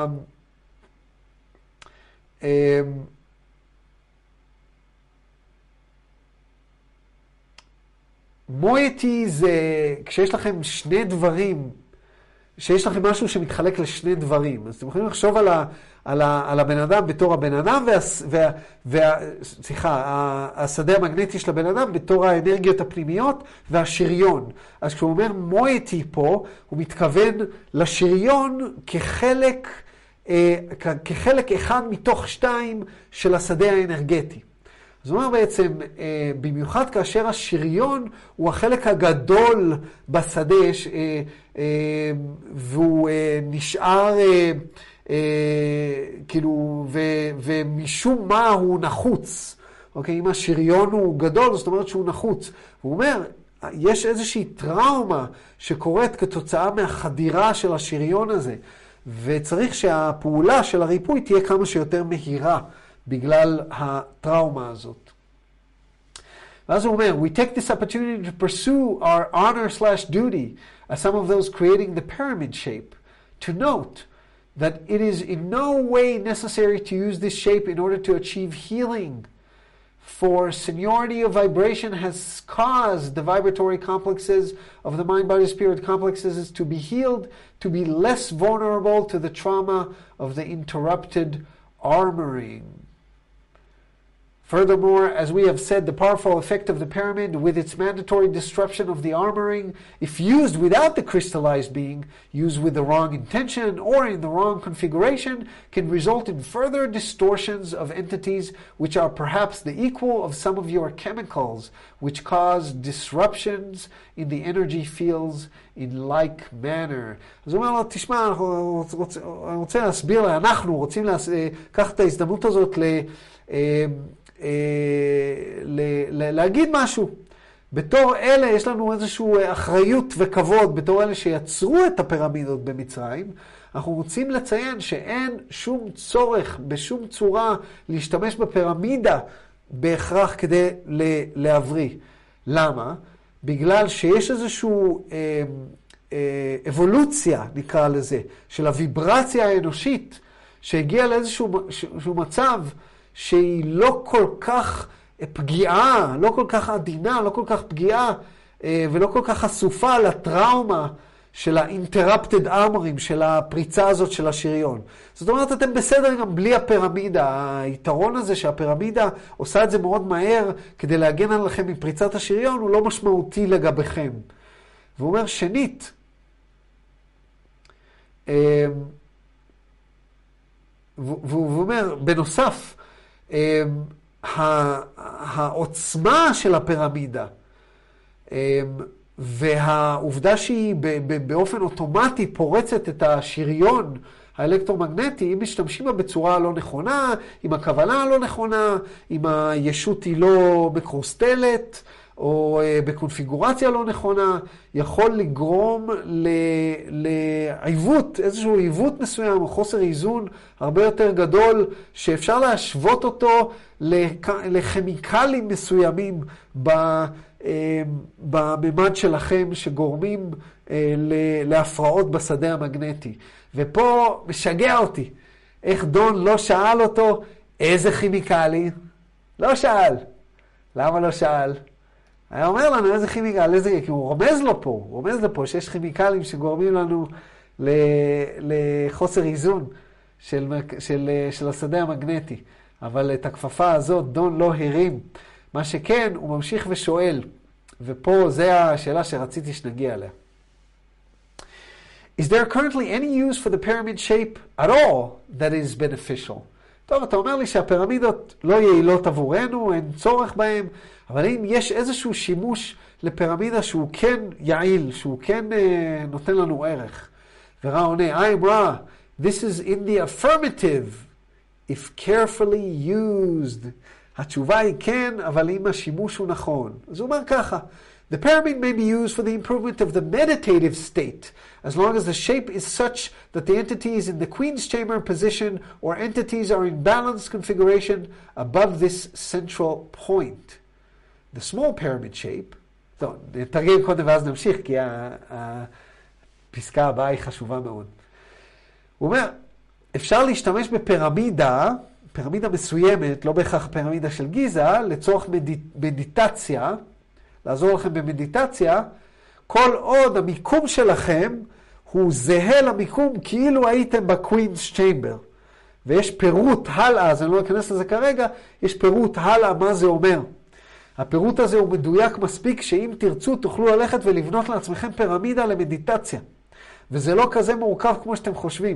מויטי זה כשיש לכם שני דברים, שיש לכם משהו שמתחלק לשני דברים. אז אתם יכולים לחשוב על הבן אדם בתור הבן אדם, השדה המגנטי של הבן אדם בתור האנרגיות הפנימיות והשריון. אז כשהוא אומר מויטי פה, הוא מתכוון לשריון כחלק אחד מתוך 2 של השדה האנרגטי. זאת אומרת בעצם, במיוחד כאשר השריון הוא החלק הגדול בשדה, והוא נשאר, כאילו, ומשום מה הוא נחוץ. אוקיי, אם השריון הוא גדול, זאת אומרת שהוא נחוץ. הוא אומר, יש איזושהי טראומה שקורית כתוצאה מהחדירה של השריון הזה, וצריך שהפעולה של הריפוי תהיה כמה שיותר מהירה. בגלל הטראומה הזאת. ואז הוא אומר, we take this opportunity to pursue our honor/duty as some of those creating the pyramid shape, to note that it is in no way necessary to use this shape in order to achieve healing, for seniority of vibration has caused the vibratory complexes of the mind-body-spirit complexes to be healed, to be less vulnerable to the trauma of the interrupted armoring. Furthermore, as we have said, the powerful effect of the pyramid with its mandatory disruption of the armoring, if used without the crystallized being, used with the wrong intention or in the wrong configuration, can result in further distortions of entities which are perhaps the equal of some of your chemicals, which cause disruptions in the energy fields in like manner. אז הוא אומר לו, תשמע, אני רוצה להסביר, אנחנו רוצים לקחת את ההזדמנות הזאת להגיד משהו. בתור אלה יש לנו איזושהי אחריות וכבוד, בתור אלה שיצרו את הפירמידות במצרים, אנחנו רוצים לציין שאין שום צורך בשום צורה להשתמש בפירמידה בהכרח כדי להבריא. למה? בגלל שיש איזושהי אבולוציה, נקרא לזה, של הוויברציה האנושית, שהגיעה לאיזשהו מצב שהיא לא כל כך פגיעה, לא כל כך עדינה, לא כל כך פגיעה, ולא כל כך חשופה לטראומה של ה-interrupted armoring, של הפריצה הזאת של השריון. זאת אומרת, אתם בסדר גם בלי הפירמידה. היתרון הזה שהפירמידה עושה את זה מאוד מהר כדי להגן עליכם מפריצת השריון, הוא לא משמעותי לגביכם. והוא אומר, שנית, והוא אומר, בנוסף, העוצמה של הפירמידה והעובדה שהיא באופן אוטומטי פורצת את השריון האלקטרומגנטי, אם משתמשים בה בצורה לא נכונה, עם הכוונה לא נכונה, אם הישות היא לא מקרוסטלת או בקונפיגורציה לא נכונה, יכול לגרום לעיוות, איזשהו עיוות מסוים או חוסר איזון הרבה יותר גדול, שאפשר להשוות אותו לכימיקלים מסוימים בממד שלכם שגורמים להפרעות בשדה המגנטי. ופה משגע אותי, איך דון לא שאל אותו איזה כימיקלים? לא שאל. למה לא שאל? היה אומר לנו איזה כימיקל, איזה, כי הוא רומז לו פה שיש כימיקלים שגורמים לנו לחוסר איזון של השדה המגנטי. אבל את הכפפה הזאת דון לא הרים. מה שכן, הוא ממשיך ושואל, ופה זה השאלה שרציתי שנגיע אליה. Is there currently any use for the pyramid shape at all that is beneficial? טוב, אתה אומר לי שהפירמידות לא יעילות עבורנו, אין צורך בהן, אבל אם יש איזשהו שימוש לפירמידה שהוא כן יעיל, שהוא כן נותן לנו ערך. ורע עונה, I'm רע, this is in the affirmative, if carefully used. התשובה היא כן, אבל אם השימוש הוא נכון. אז הוא אומר ככה, the pyramid may be used for the improvement of the meditative state, as long as the shape is such that the entity is in the Queen's Chamber position or entities are in balanced configuration above this central point. The small pyramid shape, טוב, נתרגם קודם ואז נמשיך, כי הפסקה הבאה היא חשובה מאוד. הוא אומר, אפשר להשתמש בפירמידה, פירמידה מסוימת, לא בהכרח פירמידה של גיזה, לצורך מדיטציה, לעזור לכם במדיטציה, כל עוד המיקום שלכם הוא זהה למיקום כאילו הייתם בקווינס צ'יימבר. ויש פירוט הלאה, אז אני לא אכנס לזה כרגע, יש פירוט הלאה מה זה אומר. הפירוט הזה הוא מדויק מספיק שאם תרצו תוכלו ללכת ולבנות לעצמכם פירמידה למדיטציה. וזה לא כזה מורכב כמו שאתם חושבים.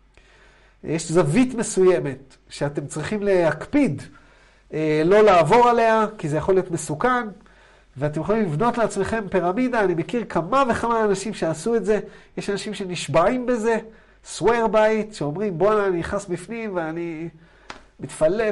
יש זווית מסוימת שאתם צריכים להקפיד, לא לעבור עליה, כי זה יכול להיות מסוכן, ואתם יכולים לבנות לעצמכם פירמידה. אני מכיר כמה וכמה אנשים שעשו את זה. יש אנשים שנשבעים בזה, swear by it, שאומרים בוא אני נכנס בפנים ואני מתפלפ,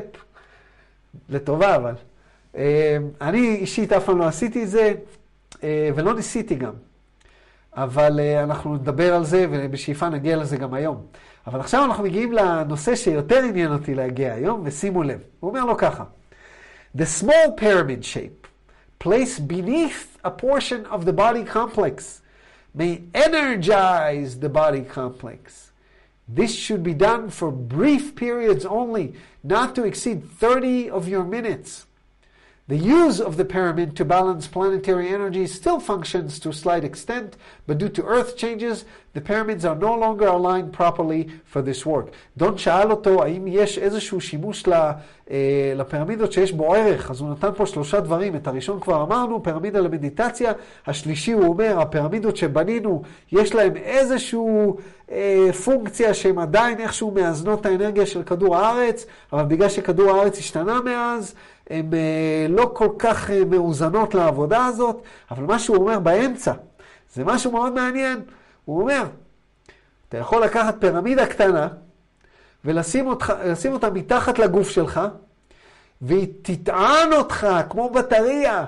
לטובה אבל. אני אישית אף פעם לא עשיתי את זה, ולא ניסיתי גם. אבל אנחנו נדבר על זה, ובשאיפה נגיע לזה גם היום. אבל עכשיו אנחנו מגיעים לנושא שיותר עניין אותי להגיע היום, ושימו לב. הוא אומר לו ככה, The small pyramid shape, placed beneath a portion of the body complex, may energize the body complex. This should be done for brief periods only, not to exceed 30 of your minutes. The use of the pyramid to balance planetary energy still functions to a slight extent, but due to Earth changes, the pyramids are no longer aligned properly for this work. דון שאל אותו האם יש איזשהו שימוש לפירמידות שיש בו ערך, אז הוא נתן פה 3 דברים. את הראשון כבר אמרנו, פירמידה למדיטציה. השלישי הוא אומר, הפירמידות שבנינו, יש להם איזשהו פונקציה שהם עדיין איכשהו מאזנות את האנרגיה של כדור הארץ, אבל בגלל שכדור הארץ השתנה מאז, הן לא כל כך מאוזנות לעבודה הזאת. אבל מה שהוא אומר באמצע, זה משהו מאוד מעניין. הוא אומר, אתה יכול לקחת פירמידה קטנה, ולשים אותה מתחת לגוף שלך, והיא תטען אותך כמו בטריה.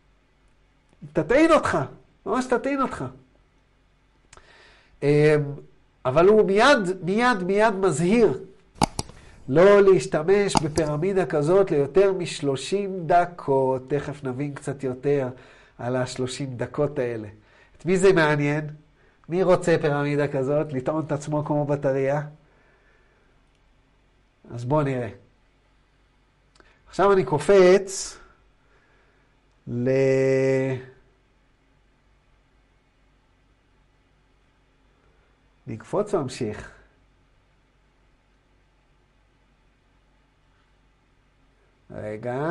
תטעין אותך, ממש תטעין אותך. אבל הוא מיד מזהיר, לא להשתמש בפירמידה כזאת ליותר מ-30 דקות. תכף נבין קצת יותר על ה-30 דקות האלה. את מי זה מעניין? מי רוצה פירמידה כזאת? לטעון את עצמו כמו בטריה? אז בואו נראה. עכשיו אני קופץ נקפוץ וממשיך. רגע.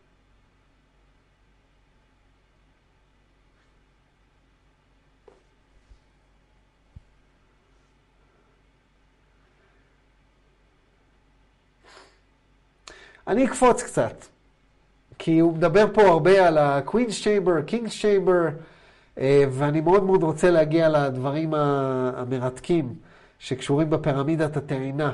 אני אקפוץ קצת, כי הוא מדבר פה הרבה על ה-Queen's Chamber, King's Chamber, ואני מאוד מאוד רוצה להגיע לדברים המרתקים שקשורים בפירמידת הטעינה.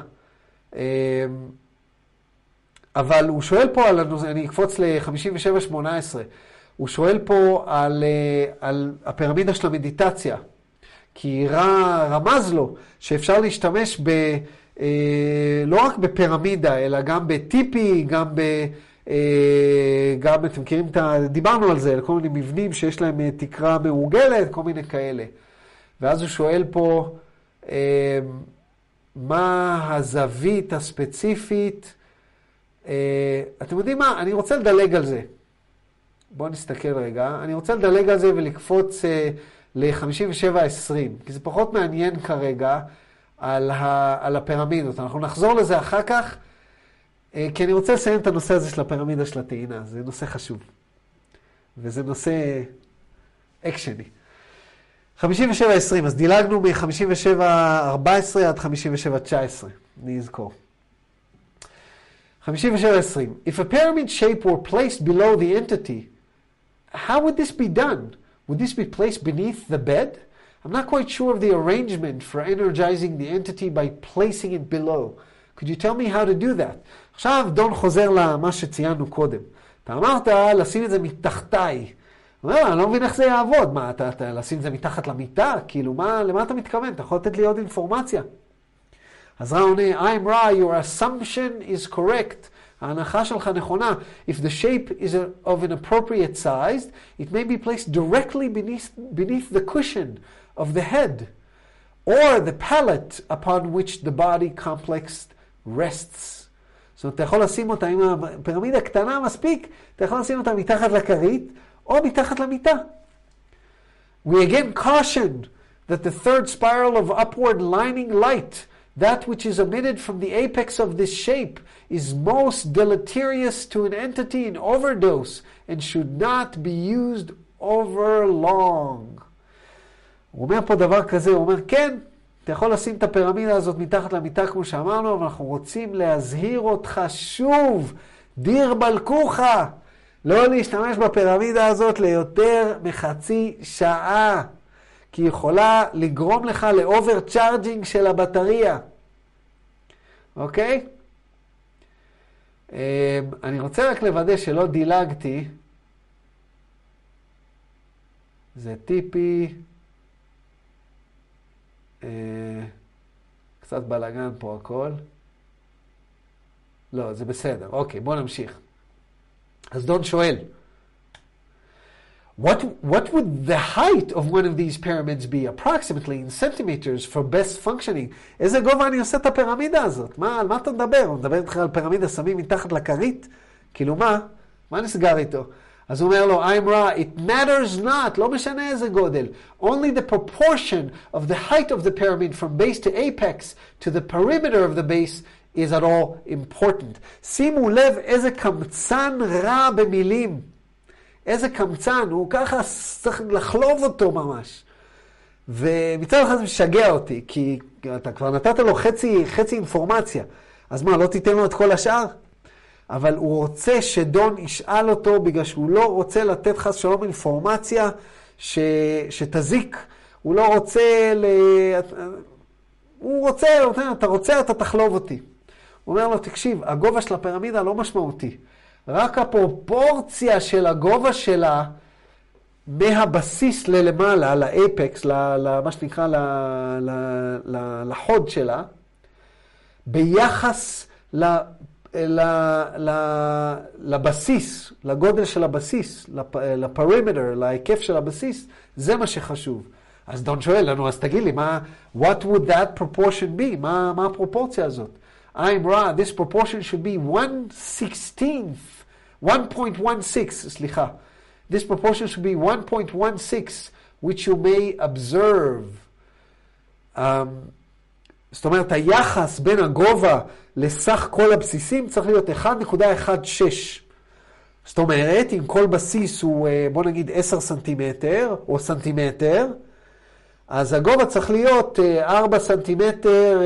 אבל הוא שואל פה אני אקפוץ ל-57-18, הוא שואל פה על הפירמידה של המדיטציה, כי רמז לו שאפשר להשתמש לא רק בפירמידה, אלא גם בטיפי, גם אתם מכירים דיברנו על זה, כל מיני מבנים שיש להם תקרה מעוגלת, כל מיני כאלה. ואז הוא שואל פה, מה הזווית הספציפית? אתם יודעים מה? אני רוצה לדלג על זה. בואו נסתכל רגע. אני רוצה לדלג על זה ולקפוץ ל-57-20, כי זה פחות מעניין כרגע על הפירמידות. אנחנו נחזור לזה אחר כך, כי אני רוצה לסיים את הנושא הזה של הפירמידה של הטעינה. זה נושא חשוב. וזה נושא אקשני. 57-20, אז דילגנו מ-57-14 עד 57-19. אני אזכור. 57:20. If a pyramid shape were placed below the entity, how would this be done? Would this be placed beneath the bed? I'm not quite sure of the arrangement for energizing the entity by placing it below. Could you tell me how to do that? עכשיו דון חוזר למה שציינו קודם. אתה אמרת לשים את זה מתחתיי. הוא אומר, אני לא מבין איך זה יעבוד. מה, אתה לשים את זה מתחת למיטה? כאילו, למה אתה מתכוון? אתה יכול לתת לי עוד אינפורמציה. אז רע עונה, I'm Ra, your assumption is correct. ההנחה שלך נכונה. If the shape is of an appropriate size, it may be placed directly beneath the cushion of the head, or the pallet upon which the body complex rests. זאת אומרת, אתה יכול לשים אותה, אם הפירמידה קטנה מספיק, אתה יכול לשים אותה מתחת לכרית, או מתחת למיטה. We again caution that the third spiral of upward lining light, that which is emitted from the apex of this shape, is most deleterious to an entity in overdose and should not be used over long. הוא אומר פה דבר כזה, הוא אומר, כן, אתה יכול לשים את הפירמידה הזאת מתחת למיטה כמו שאמרנו, אבל אנחנו רוצים להזהיר אותך שוב, דיר בלקוחה, לא להשתמש בפירמידה הזאת ליותר מחצי שעה, כי היא יכולה לגרום לך לאובר צ'ארג'ינג של הבטריה. אוקיי? אני רוצה רק לוודא שלא דילגתי. זה טיפי. קצת בלגן פה הכל. לא, זה בסדר. אוקיי, בוא נמשיך. אז דון שואל, What would the height of one of these pyramids be approximately in centimeters for best functioning? איזה גובה אני עושה את הפירמידה הזאת? על מה אתה מדבר? הוא מדבר איתך על פירמידה שמים מתחת לכרית? כאילו מה נסגר איתו? אז הוא אומר לו, I'm Ra, it matters not, לא משנה איזה גודל. Only the proportion of the height of the pyramid from base to apex to the perimeter of the base is at all important. שימו לב איזה קמצן רע במילים. איזה קמצן, הוא ככה צריך לחלוב אותו ממש. ומצד אחד זה משגע אותי, כי אתה כבר נתת לו חצי אינפורמציה. אז מה, לא תיתן לו את כל השאר? אבל הוא רוצה שדון ישאל אותו, בגלל שהוא לא רוצה לתת חס שלום אינפורמציה שתזיק. הוא לא רוצה הוא רוצה, אתה רוצה, אתה תחלוב אותי. הוא אומר לו, תקשיב, הגובה של הפירמידה לא משמעותי. רק הפרופורציה של הגובה שלה מהבסיס ללמעלה, לאפקס, מה שנקרא, לחוד שלה, ביחס לבסיס, לגודל של הבסיס, לפרימטר, להיקף של הבסיס, זה מה שחשוב. אז דון שואל לנו, אז תגיד לי, what would that proportion be? מה הפרופורציה הזאת? I'm Ra, this proportion should be 1.16, סליחה. This proportion should be 1.16, which you may observe. זאת אומרת, היחס בין הגובה לסך כל הבסיסים צריך להיות 1.16. זאת אומרת, אם כל בסיס הוא, בוא נגיד, 10 סנטימטר, או סנטימטר, אז הגובה צריך להיות 4 סנטימטר,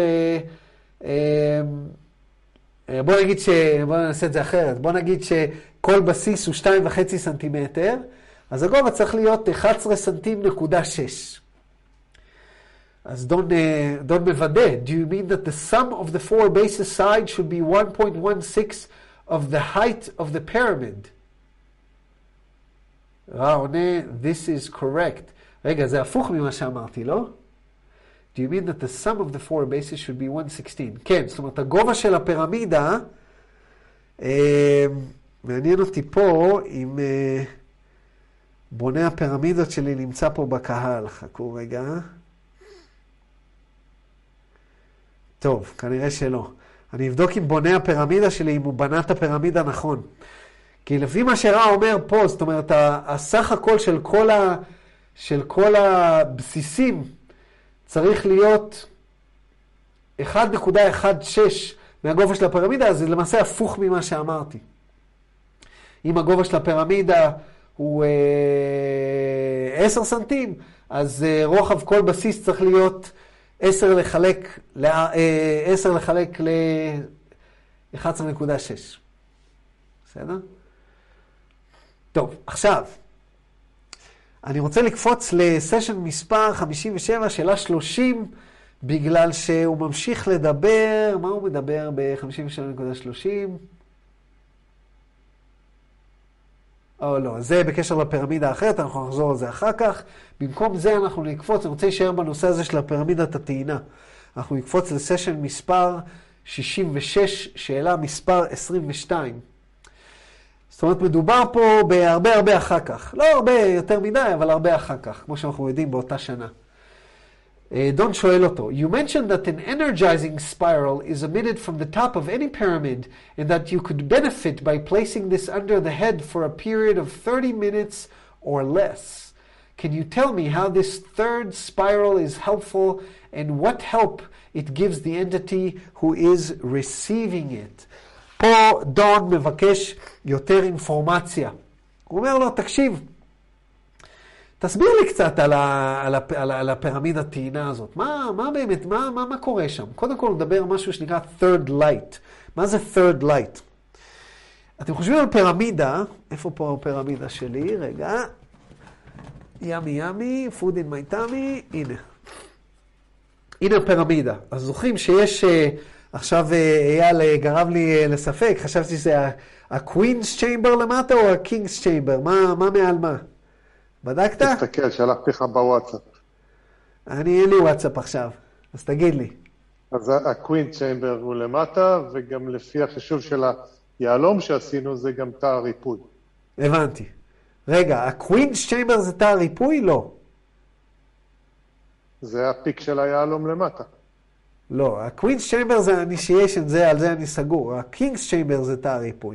בוא נעשה את זה אחרת. בוא נגיד שכל בסיס הוא 2.5 סנטימטר, אז הגובה צריך להיות 11 סנטימטר. אז דון מוודא. Do you mean that the sum of the four bases sides should be 1.16 of the height of the pyramid? עונה, this is correct. רגע, זה הפוך ממה שאמרתי, לא? Do you mean that the sum of the four bases should be 116? כן, זאת אומרת, הגובה של הפירמידה, מעניין אותי פה, אם בונה הפירמידות שלי נמצא פה בקהל. חכו רגע. טוב, כנראה שלא. אני אבדוק עם בונה הפירמידה שלי, אם הוא בנה את הפירמידה נכון. כי לפי מה שרע אומר פה, זאת אומרת, הסך הכל של כל הבסיסים, צריך להיות 1.16 מהגובה של הפירמידה, אז זה למעשה הפוך ממה שאמרתי. אם הגובה של הפירמידה הוא 10 סנטים, אז רוחב כל בסיס צריך להיות 10 לחלק 11.6. בסדר? טוב, עכשיו, אני רוצה לקפוץ לסשן מספר 57, שאלה 30, בגלל שהוא ממשיך לדבר, מה הוא מדבר ב-57.30? או לא, זה בקשר לפירמידה האחרת, אנחנו נחזור על זה אחר כך. במקום זה אנחנו נקפוץ, אני רוצה להישאר בנושא הזה של הפירמידת הטעינה. אנחנו נקפוץ לסשן מספר 66, שאלה מספר 22. זאת אומרת, מדובר פה בהרבה אחר כך. לא הרבה יותר מדי, אבל הרבה אחר כך, כמו שאנחנו יודעים באותה שנה. דון שואל אותו, You mentioned that an energizing spiral is emitted from the top of any pyramid and that you could benefit by placing this under the head for a period of 30 minutes or less. Can you tell me how this third spiral is helpful and what help it gives the entity who is receiving it? פה דון מבקש יותר אינפורמציה. הוא אומר לו, תקשיב, תסביר לי קצת על הפירמידת הטעינה הזאת. מה באמת, מה קורה שם? קודם כל נדבר על משהו שנקרא third light. מה זה third light? אתם חושבים על פירמידה, איפה פה הפירמידה שלי? רגע. ימי, food in my tummy, הנה. הנה הפירמידה. אז זוכרים שיש, עכשיו אייל גרם לי לספק, חשבתי שזה ה-Queen's Chamber למטה או ה-King's Chamber? מה מעל מה? בדקת? תסתכל, שלחתי לך בוואטסאפ. אין לי וואטסאפ עכשיו, אז תגיד לי. אז ה-Queen Chamber הוא למטה, וגם לפי החישוב של היעלום שעשינו, זה גם תא הריפוי. הבנתי. רגע, ה-Queen's Chamber זה תא הריפוי? לא. זה הפיק של היעלום למטה. לא, ה-Queen's Chamber זה ה-initiation, על זה אני סגור. ה-King's Chamber זה תא הריפוי.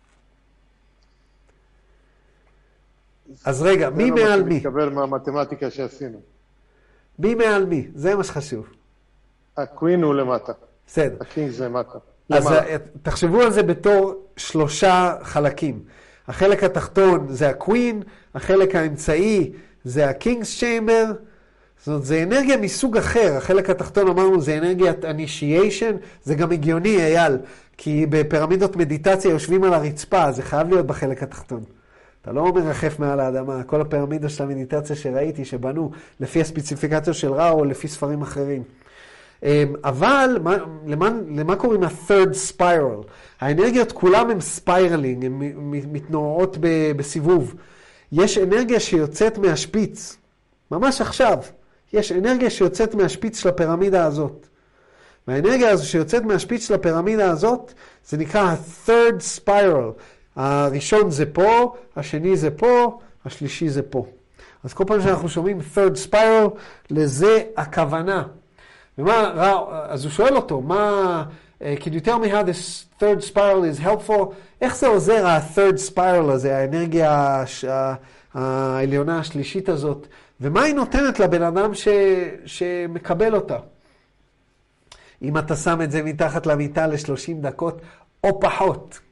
אז רגע, מי מעל מי? זה לא מה שמתקבל מהמתמטיקה שעשינו. מי מעל מי? זה מה שחשוב. הקווין הוא למטה. בסדר. הקינג זה למטה. אז תחשבו על זה בתור 3 חלקים. החלק התחתון זה הקווין, החלק האמצעי זה הקינג's צ'יימבר. זאת אומרת, זה אנרגיה מסוג אחר. החלק התחתון אמרנו זה אנרגיית initiation. זה גם הגיוני, אייל, כי בפירמידות מדיטציה יושבים על הרצפה, זה חייב להיות בחלק התחתון. אתה לא מרחף מעל האדמה, כל הפירמידה של המדיטציה שראיתי, שבנו לפי הספציפיקציה של ראו או לפי ספרים אחרים. אבל למה קוראים ה-third spiral? האנרגיות כולם הם ספיירלינג, הן מתנועות בסיבוב. יש אנרגיה שיוצאת מהשפיץ, ממש עכשיו, יש אנרגיה שיוצאת מהשפיץ של הפירמידה הזאת. והאנרגיה הזו שיוצאת מהשפיץ של הפירמידה הזאת, זה נקרא ה-third spiral. הראשון זה פה, השני זה פה, השלישי זה פה. אז כל פעם שאנחנו שומעים third spiral, לזה הכוונה. אז הוא שואל אותו, can you tell me how this third spiral is helpful? איך זה עוזר ה-third spiral הזה, האנרגיה העליונה השלישית הזאת, ומה היא נותנת לבן אדם שמקבל אותה? אם אתה שם את זה מתחת למיטה ל-30 דקות או פחות.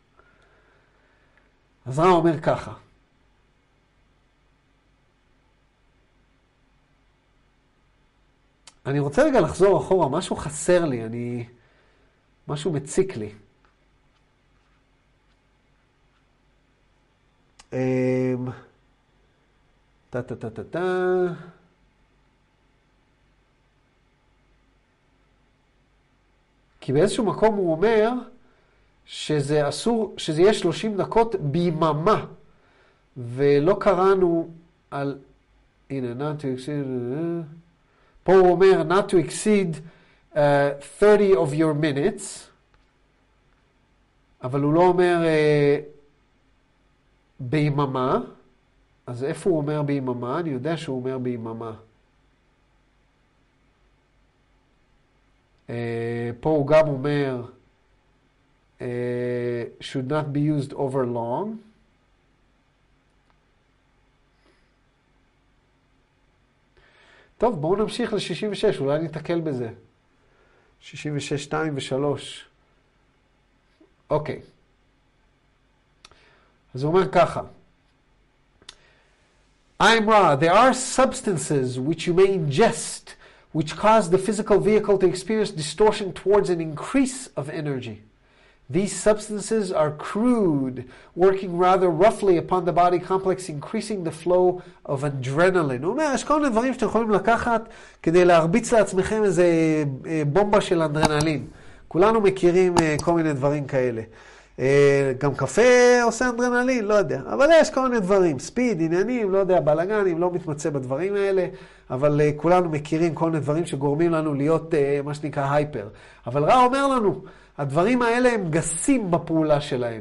אז רע אומר ככה. אני רוצה רגע לחזור אחורה, משהו חסר לי, משהו מציק לי. כי באיזשהו מקום הוא אומר שזה אסור, שזה יהיה 30 דקות ביממה, ולא קראנו על, הנה, not to exceed, פה הוא אומר not to exceed 30 of your minutes, אבל הוא לא אומר ביממה, אז איפה הוא אומר ביממה? אני יודע שהוא אומר ביממה. פה הוא גם אומר should not be used over long. טוב, בואו נמשיך ל-66, אולי נתקל בזה. 66, 2 ו-3. אוקיי. אז הוא אומר ככה. I'm Ra. There are substances which you may ingest which cause the physical vehicle to experience distortion towards an increase of energy. These substances are crude, working rather roughly upon the body complex, increasing the flow of adrenaline. הוא אומר, יש כל מיני דברים שאתם יכולים לקחת כדי להרביץ לעצמכם איזה בומבה של אדרנלין. כולנו מכירים כל מיני דברים כאלה. גם קפה עושה אדרנלין, לא יודע. אבל יש כל מיני דברים, ספיד, עניינים, לא יודע, בלגנים, לא מתמצא בדברים האלה, אבל כולנו מכירים כל מיני דברים שגורמים לנו להיות מה שנקרא הייפר. אבל רע אומר לנו, הדברים האלה הם גסים בפעולה שלהם,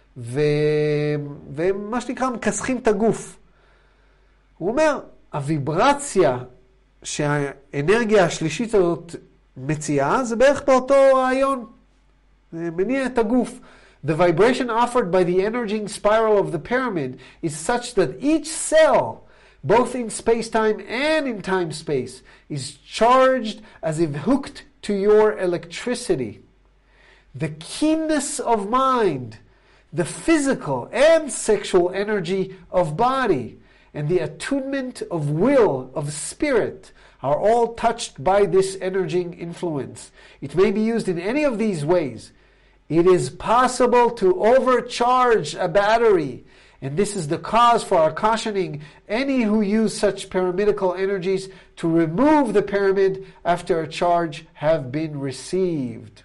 והם מה שנקרא מכסחים את הגוף. הוא אומר, הוויברציה שהאנרגיה השלישית הזאת מציעה, זה בערך באותו רעיון. זה מניע את הגוף. The vibration offered by the energizing spiral of the pyramid is such that each cell, both in space-time and in time-space, is charged as if hooked to your electricity. The keenness of mind, the physical and sexual energy of body, and the attunement of will, of spirit, are all touched by this energizing influence. It may be used in any of these ways. It is possible to overcharge a battery, and this is the cause for our cautioning any who use such pyramidical energies to remove the pyramid after a charge have been received.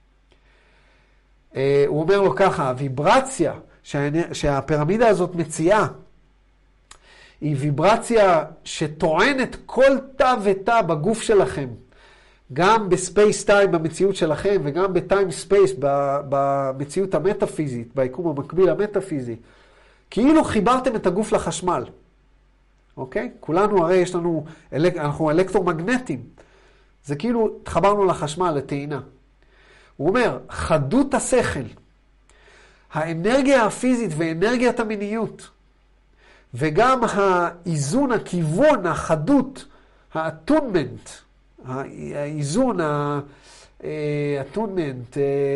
הוא אומר לו ככה, הוויברציה שהפירמידה הזאת מציעה, היא ויברציה שטוענת כל תא ותא בגוף שלכם, גם בספייס טיים במציאות שלכם, וגם בטיים ספייס במציאות המטאפיזית, ביקום המקביל המטאפיזי. כאילו חיברתם את הגוף לחשמל. אוקיי? כולנו הרי יש לנו, אנחנו אלקטרומגנטים. זה כאילו התחברנו לחשמל, לטעינה. הוא אומר, חדות השכל, האנרגיה הפיזית ואנרגיית המיניות, וגם האיזון, הכיוון, החדות, האטונמנט, האיזון, האטונמנט,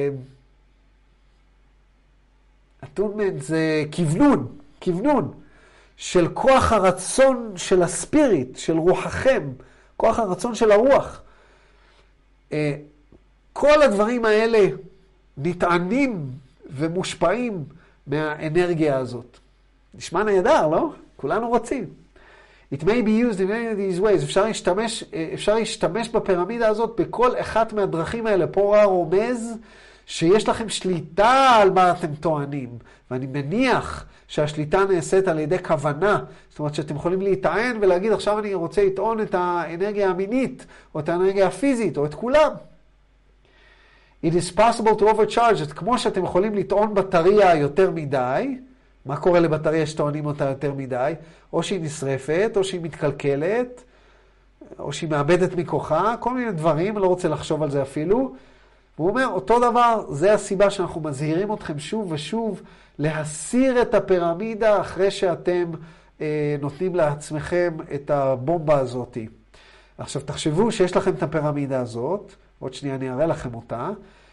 אטונמנט זה כיוונון של כוח הרצון של הספיריט, של רוחכם, כוח הרצון של הרוח. כל הדברים האלה נטענים ומושפעים מהאנרגיה הזאת. נשמע נהדר, לא? כולנו רוצים. It may be used in any of these ways. אפשר להשתמש בפירמידה הזאת בכל אחת מהדרכים האלה. פה רומז שיש לכם שליטה על מה אתם טוענים. ואני מניח שהשליטה נעשית על ידי כוונה. זאת אומרת שאתם יכולים להיטען ולהגיד, עכשיו אני רוצה לטעון את האנרגיה המינית, או את האנרגיה הפיזית, או את כולם. It is possible to overcharge it. כמו שאתם יכולים לטעון בטריה יותר מדי, מה קורה לבטריה שטוענים אותה יותר מדי? או שהיא נשרפת, או שהיא מתקלקלת, או שהיא מאבדת מכוחה, כל מיני דברים, אני לא רוצה לחשוב על זה אפילו. הוא אומר, אותו דבר, זה הסיבה שאנחנו מזהירים אתכם שוב ושוב, להסיר את הפירמידה אחרי שאתם נותנים לעצמכם את הבומבה הזאת. עכשיו תחשבו שיש לכם את הפירמידה הזאת, עוד שנייה אני אראה לכם אותה,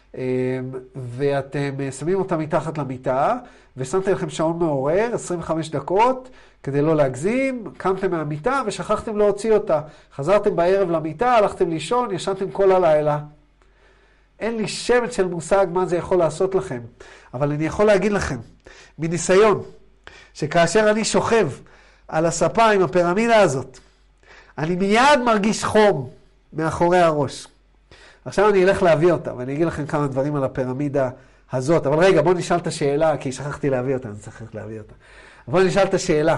ואתם שמים אותה מתחת למיטה, ושמתם לכם שעון מעורר, 25 דקות, כדי לא להגזים, קמתם מהמיטה ושכחתם להוציא אותה. חזרתם בערב למיטה, הלכתם לישון, ישנתם כל הלילה. אין לי שמץ של מושג מה זה יכול לעשות לכם, אבל אני יכול להגיד לכם, מניסיון, שכאשר אני שוכב על הספה עם הפירמידה הזאת, אני מיד מרגיש חום מאחורי הראש. עכשיו אני אלך להביא אותה, ואני אגיד לכם כמה דברים על הפירמידה הזאת. אבל רגע, בואו נשאל את השאלה, כי שכחתי להביא אותה, אני צריך להביא אותה. בואו נשאל את השאלה.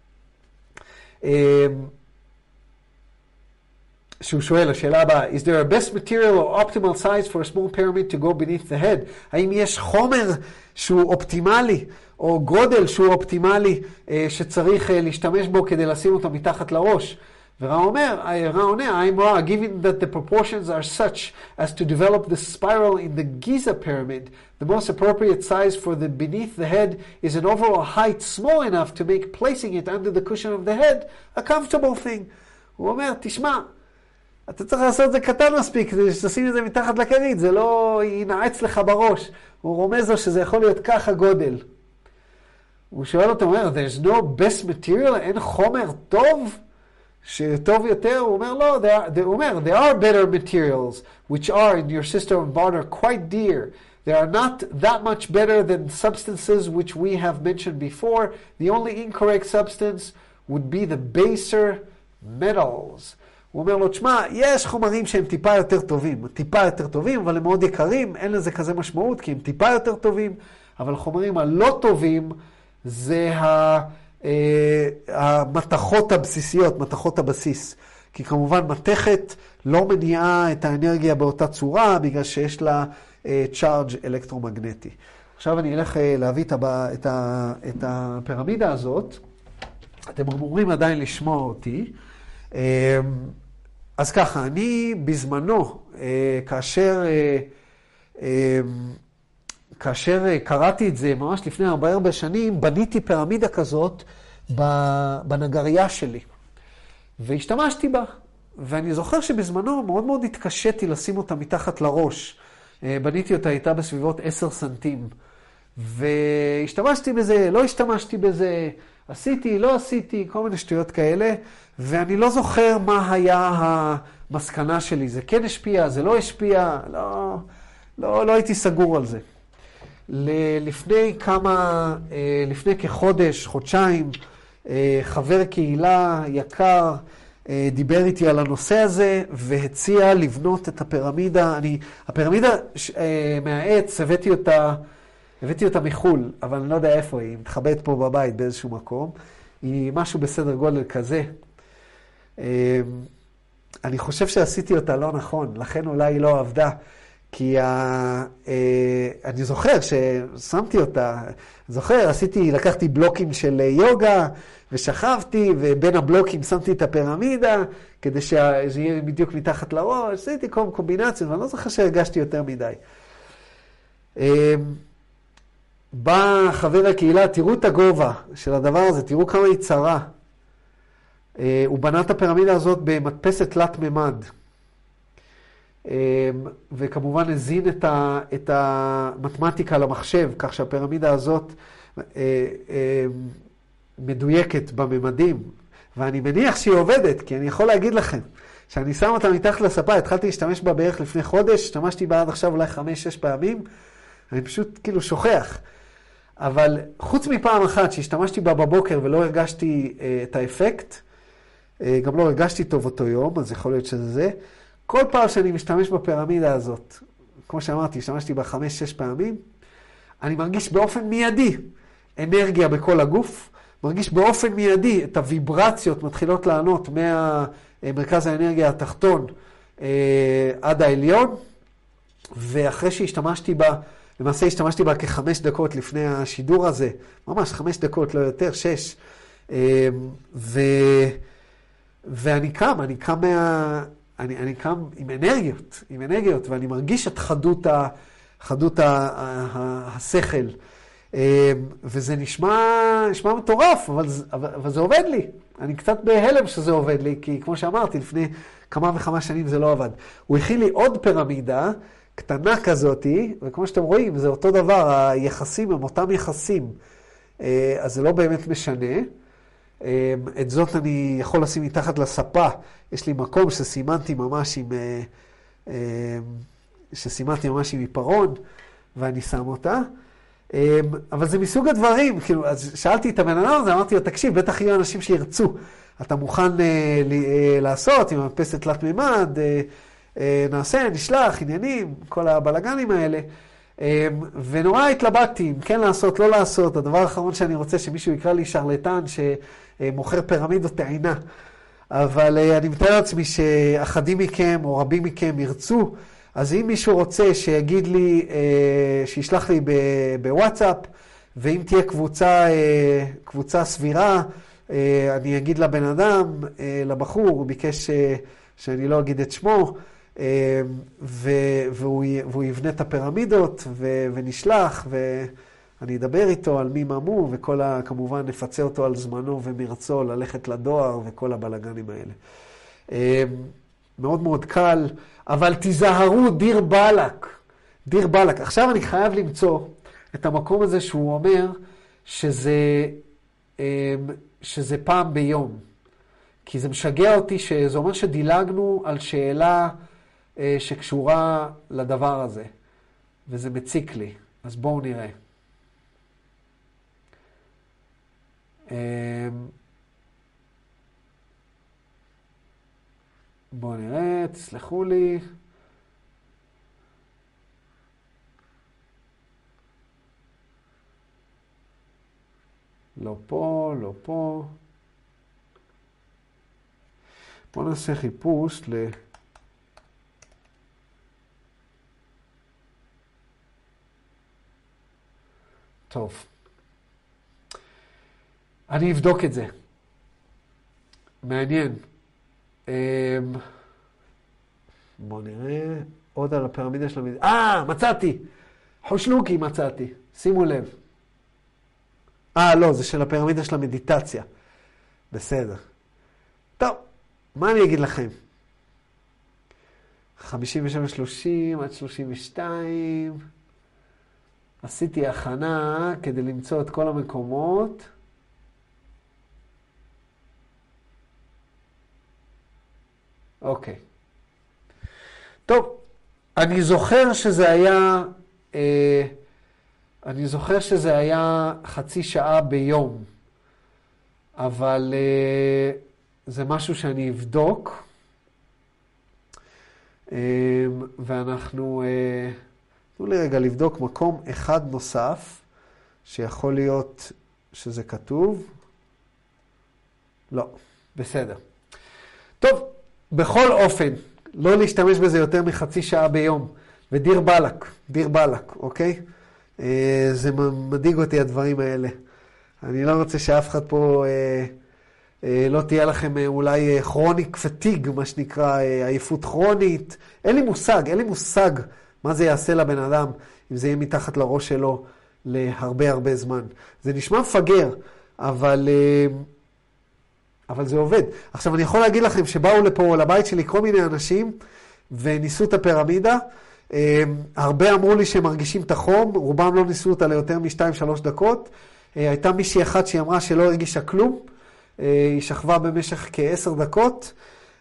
שהוא שואל, השאלה הבאה, is there a best material or optimal size for a small pyramid to go beneath the head? האם יש חומר שהוא אופטימלי, או גודל שהוא אופטימלי, שצריך להשתמש בו כדי לשים אותו מתחת לראש? ורע עונה, I'm raw, given that the proportions are such as to develop the spiral in the Giza pyramid, the most appropriate size for the beneath the head is an overall height small enough to make placing it under the cushion of the head a comfortable thing. הוא אומר, תשמע, אתה צריך לעשות את זה קטן מספיק, כדי שתשים את זה מתחת לכרית, זה לא ינעץ לך בראש. הוא רומז לו שזה יכול להיות ככה גודל. הוא שואל אותו, אומר, there's no best material, אין חומר טוב? שטוב יותר, הוא אומר, לא, there are better materials, which are in your system of barter quite dear, They are not that much better than substances which we have mentioned before. The only incorrect substance would be the baser metals. הוא אומר לו, תשמע, יש חומרים שהם טיפה יותר טובים, אבל הם מאוד יקרים, אין לזה כזה משמעות, כי הם טיפה יותר טובים, אבל החומרים הלא טובים זה המתכות הבסיסיות, מתכות הבסיס. כי כמובן מתכת לא מניעה את האנרגיה באותה צורה, בגלל שיש לה צ'ארג' אלקטרומגנטי. עכשיו אני אלך להביא את הפירמידה הזאת. אתם אמורים עדיין לשמוע אותי. אז ככה, אני בזמנו, כאשר קראתי את זה ממש לפני 4 שנים, בניתי פירמידה כזאת בנגריה שלי. והשתמשתי בה. ואני זוכר שבזמנו מאוד מאוד התקשיתי לשים אותה מתחת לראש. בניתי אותה, הייתה בסביבות 10 סנטים. והשתמשתי בזה, לא השתמשתי בזה, עשיתי, לא עשיתי, כל מיני שטויות כאלה. ואני לא זוכר מה היה המסקנה שלי. זה כן השפיע, זה לא השפיע, לא הייתי סגור על זה. לפני כחודש, חודשיים, חבר קהילה יקר דיבר איתי על הנושא הזה והציע לבנות את הפירמידה. הפירמידה מהעץ, הבאתי אותה מחול, אבל אני לא יודע איפה היא, מתחבאת פה בבית באיזשהו מקום. היא משהו בסדר גודל כזה. אני חושב שעשיתי אותה לא נכון, לכן אולי היא לא עבדה. כי אני זוכר ששמתי אותה, לקחתי בלוקים של יוגה ושכבתי, ובין הבלוקים שמתי את הפירמידה, כדי שזה יהיה בדיוק מתחת לראש, עשיתי כל קומבינציות, ואני לא זוכר שהרגשתי יותר מדי. בא חבר הקהילה, תראו את הגובה של הדבר הזה, תראו כמה היא צרה. הוא בנה את הפירמידה הזאת במדפסת תלת ממד. וכמובן הזין את המתמטיקה למחשב, כך שהפירמידה הזאת מדויקת בממדים. ואני מניח שהיא עובדת, כי אני יכול להגיד לכם, שאני שם אותה מתחת לספה, התחלתי להשתמש בה בערך לפני חודש, השתמשתי בה עד עכשיו אולי 5-6 פעמים, אני פשוט כאילו שוכח. אבל חוץ מפעם אחת שהשתמשתי בה בבוקר ולא הרגשתי את האפקט, גם לא הרגשתי טוב אותו יום, אז יכול להיות שזה זה, כל פעם שאני משתמש בפירמידה הזאת, כמו שאמרתי, השתמשתי בה 5-6 פעמים, אני מרגיש באופן מיידי אנרגיה בכל הגוף, מרגיש באופן מיידי את הוויברציות מתחילות לענות מהמרכז האנרגיה התחתון עד העליון, ואחרי שהשתמשתי בה, למעשה השתמשתי בה כ5 דקות לפני השידור הזה, ממש 5 דקות, לא יותר, 6, ואני קם עם אנרגיות, ואני מרגיש את חדות השכל. וזה נשמע מטורף, אבל זה עובד לי. אני קצת בהלם שזה עובד לי, כי כמו שאמרתי, לפני כמה וכמה שנים זה לא עבד. הוא הכיל לי עוד פירמידה קטנה כזאת, וכמו שאתם רואים, זה אותו דבר, היחסים הם אותם יחסים. אז זה לא באמת משנה. את זאת אני יכול לשים מתחת לספה. יש לי מקום שסימנתי ממש עם עיפרון, ואני שם אותה. אבל זה מסוג הדברים, כאילו, אז שאלתי את הבן אדם הזה, אמרתי לו, תקשיב, בטח יהיו אנשים שירצו. אתה מוכן לעשות עם המדפסת תלת מימד, נעשה, נשלח, עניינים, כל הבלגנים האלה. ונורא התלבטתי, אם כן לעשות, לא לעשות. הדבר האחרון שאני רוצה שמישהו יקרא לי שרלטן שמוכר פירמידות טעינה. אבל אני מתאר לעצמי שאחדים מכם או רבים מכם ירצו, אז אם מישהו רוצה שיגיד לי, שישלח לי בוואטסאפ, ואם תהיה קבוצה סבירה, אני אגיד לבן אדם, לבחור, הוא ביקש שאני לא אגיד את שמו, והוא יבנה את הפירמידות ונשלח, ואני אדבר איתו על מי ממו, כמובן נפצה אותו על זמנו ומרצו ללכת לדואר וכל הבלגנים האלה. מאוד מאוד קל, אבל תיזהרו, דיר בלק. עכשיו אני חייב למצוא את המקום הזה שהוא אומר שזה פעם ביום. כי זה משגע אותי שזה אומר שדילגנו על שאלה שקשורה לדבר הזה. וזה מציק לי. אז בואו נראה. בואו נראה, תסלחו לי. לא פה, לא פה. בואו נעשה חיפוש טוב. אני אבדוק את זה. מעניין. בואו נראה. עוד על הפירמידה של המדיטציה. מצאתי! חושלוקי מצאתי. שימו לב. לא, זה של הפירמידה של המדיטציה. בסדר. טוב, מה אני אגיד לכם? 57-30 עד 32. עשיתי הכנה כדי למצוא את כל המקומות. אוקיי. טוב, אני זוכר שזה היה חצי שעה ביום, אבל זה משהו שאני אבדוק, ואנחנו, תנו לי רגע לבדוק מקום אחד נוסף, שיכול להיות שזה כתוב. לא, בסדר. טוב, בכל אופן, לא להשתמש בזה יותר מחצי שעה ביום, ודיר בלק, אוקיי? זה מדאיג אותי הדברים האלה. אני לא רוצה שאף אחד פה לא תהיה לכם אולי כרוניק פטיג, מה שנקרא עייפות כרונית. אין לי מושג מה זה יעשה לבן אדם אם זה יהיה מתחת לראש שלו להרבה זמן. זה נשמע מפגר, אבל זה עובד. עכשיו אני יכול להגיד לכם שבאו לפה לבית שלי כל מיני אנשים וניסו את הפירמידה. הרבה אמרו לי שהם מרגישים את החום, רובם לא ניסו אותה ליותר מ2-3 דקות. הייתה מישהי אחת שהיא אמרה שלא הרגישה כלום, היא שכבה במשך כ10 דקות,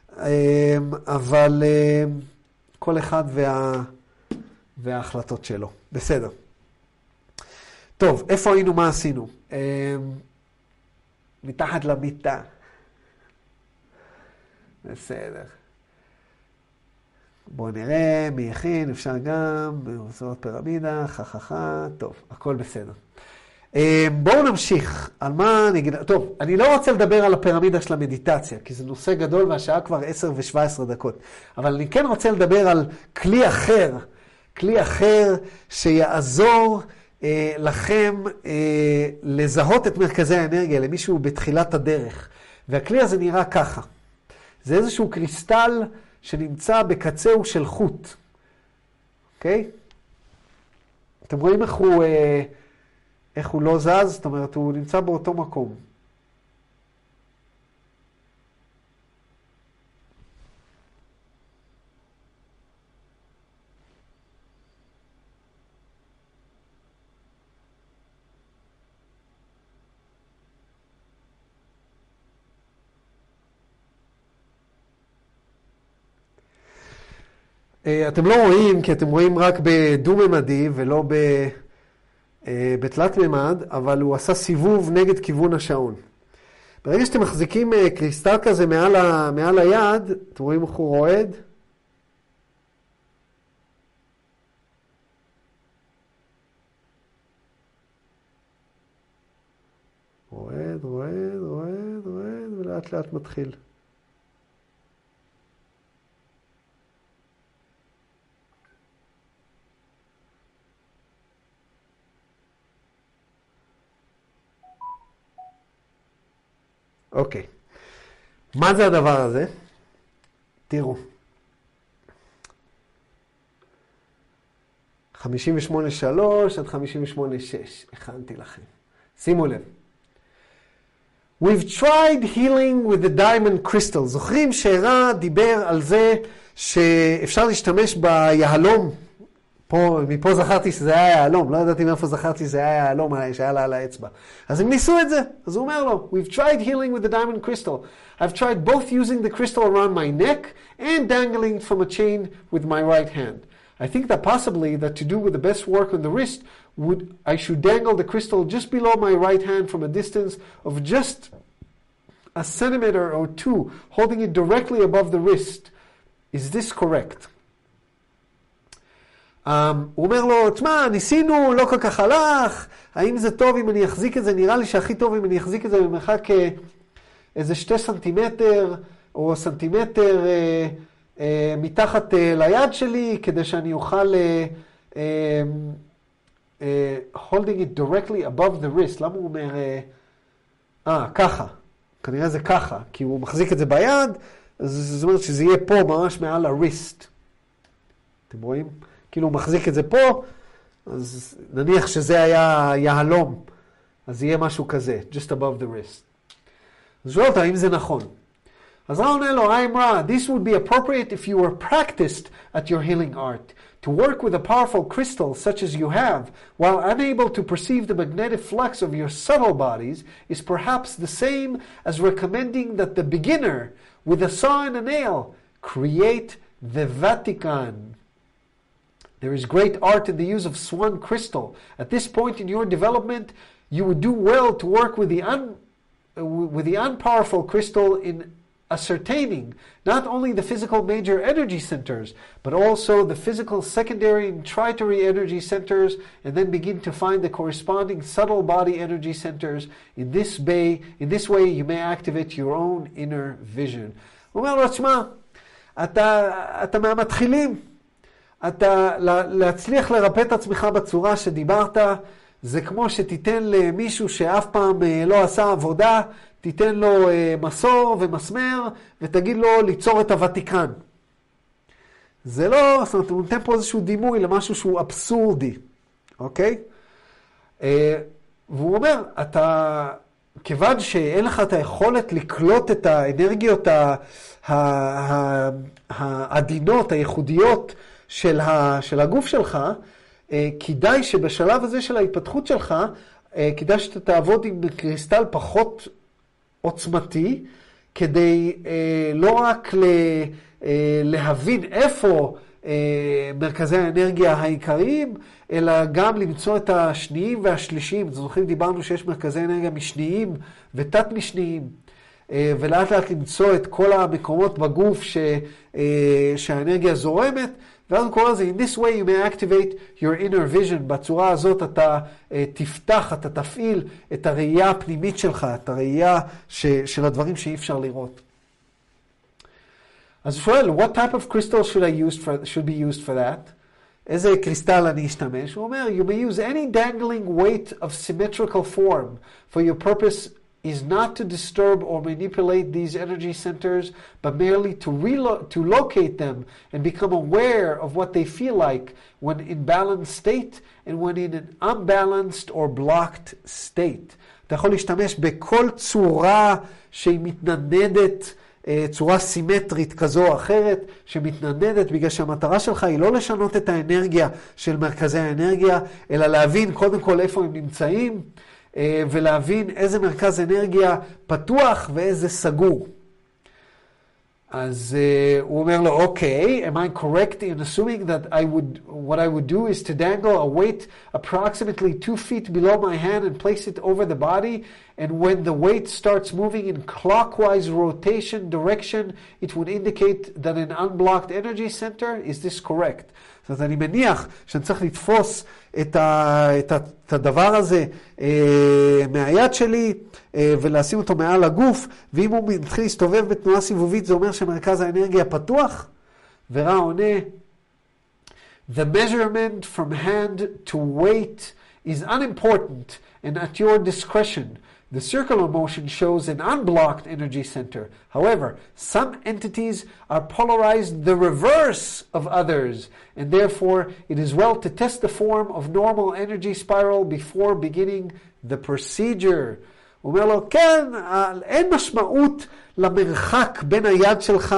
אבל כל אחד וההחלטות שלו. בסדר. טוב, איפה היינו, מה עשינו? מתחת למיטה. בסדר. בואו נראה, מי הכין, אפשר גם, בעזרת פירמידה, טוב, הכל בסדר. בואו נמשיך, על מה אני אגיד, טוב, אני לא רוצה לדבר על הפירמידה של המדיטציה, כי זה נושא גדול והשעה כבר 10:17 דקות, אבל אני כן רוצה לדבר על כלי אחר שיעזור לכם לזהות את מרכזי האנרגיה, למישהו בתחילת הדרך, והכלי הזה נראה ככה, זה איזשהו קריסטל שנמצא בקצהו של חוט. אוקיי? אתם רואים איך הוא לא זז? זאת אומרת, הוא נמצא באותו מקום. אתם לא רואים, כי אתם רואים רק בדו-ממדי ולא בתלת ממד, אבל הוא עשה סיבוב נגד כיוון השעון. ברגע שאתם מחזיקים קריסטל כזה מעל היד, אתם רואים איך הוא רועד? רועד, ולאט לאט מתחיל. אוקיי. מה זה הדבר הזה? תראו. 58.3 עד 58.6. הכנתי לכם. שימו לב. We've tried healing with the diamond crystal. זוכרים שהרע דיבר על זה שאפשר להשתמש ביהלום. מפה זכרתי שזה היה יהלום, לא ידעתי מאיפה זכרתי שזה היה יהלום שהיה לה על האצבע. אז הם ניסו את זה, אז הוא אומר לו, We've tried healing with the diamond crystal. I've tried both using the crystal around my neck and dangling from a chain with my right hand. I think that possibly that to do with the best work on the wrist, I should dangle the crystal just below my right hand from a distance of just a centimeter or two, holding it directly above the wrist. Is this correct? הוא אומר לו, תשמע, ניסינו, לא כל כך הלך, האם זה טוב אם אני אחזיק את זה? נראה לי שהכי טוב אם אני אחזיק את זה במרחק איזה 2 סנטימטר או סנטימטר מתחת ליד שלי, כדי שאני אוכל holding it directly above the wrist. למה הוא אומר, ככה, כנראה זה ככה, כי הוא מחזיק את זה ביד, אז זאת אומרת שזה יהיה פה ממש מעל ה-wrist. אתם רואים? כאילו הוא מחזיק את זה פה, אז נניח שזה היה יהלום, אז יהיה משהו כזה, just above the wrist. אז שואל אותה, האם זה נכון? אז רע עונה לו, I'm Ra, this would be appropriate if you were practiced at your healing art. To work with a powerful crystal such as you have, while unable to perceive the magnetic flux of your subtle bodies, is perhaps the same as recommending that the beginner, with a saw and a nail, create the Vatican. There is great art in the use of swan crystal. At this point in your development, you would do well to work with the unpowerful crystal in ascertaining not only the physical major energy centers, but also the physical secondary and tertiary energy centers, and then begin to find the corresponding subtle body energy centers. In this way, you may activate your own inner vision. הוא אומר לו, תשמע, אתה מהמתחילים, להצליח לרפא את עצמך בצורה שדיברת, זה כמו שתיתן למישהו שאף פעם לא עשה עבודה, תיתן לו מסור ומסמר, ותגיד לו ליצור את הוותיקן. זה לא, זאת אומרת, הוא נותן פה איזשהו דימוי למשהו שהוא אבסורדי, אוקיי? והוא אומר, כיוון שאין לך את היכולת לקלוט את האנרגיות העדינות, הייחודיות של הגוף שלך, כדאי שבשלב הזה של ההתפתחות שלך, כדאי שאתה תעבוד עם קריסטל פחות עוצמתי, כדי לא רק להבין איפה מרכזי האנרגיה העיקריים, אלא גם למצוא את השניים והשלישיים. זוכרים, דיברנו שיש מרכזי אנרגיה משניים ותת משניים, ולאט לאט למצוא את כל המקומות בגוף שהאנרגיה זורמת, ואז הוא קורא לזה, in this way you may activate your inner vision. בצורה הזאת אתה תפתח, אתה תפעיל את הראייה הפנימית שלך, את הראייה של הדברים שאי אפשר לראות. אז הוא שואל, what type of crystal should be used for that? איזה קריסטל אני אשתמש? הוא אומר, you may use any dangling weight of symmetrical form, for your purpose is not to disturb or manipulate these energy centers, but merely to locate them and become aware of what they feel like when in balanced state and when in an unbalanced or blocked state. אתה יכול להשתמש בכל צורה שהיא מתנדנדת, צורה סימטרית כזו או אחרת, שמתנדנדת בגלל שהמטרה שלך היא לא לשנות את האנרגיה של מרכזי האנרגיה, אלא להבין קודם כל איפה הם נמצאים, ולהבין איזה מרכז אנרגיה פתוח ואיזה סגור. אז הוא אומר לו, okay, am I correct in assuming that what I would do is to dangle a weight approximately 2 feet below my hand and place it over the body, and when the weight starts moving in clockwise rotation direction, it would indicate that an unblocked energy center? Is this correct? זאת אומרת, אני מניח שאני צריך לתפוס את הדבר הזה מהיד שלי ולשים אותו מעל הגוף, ואם הוא מתחיל להסתובב בתנועה סיבובית, זה אומר שמרכז האנרגיה פתוח. ורע עונה, the measurement from hand to weight is unimportant and at your discretion. The circular motion shows an unblocked energy center. However, some entities are polarized the reverse of others, and therefore it is well to test the form of normal energy spiral before beginning the procedure. הוא אומר לו, כן, אין משמעות למרחק בין היד שלך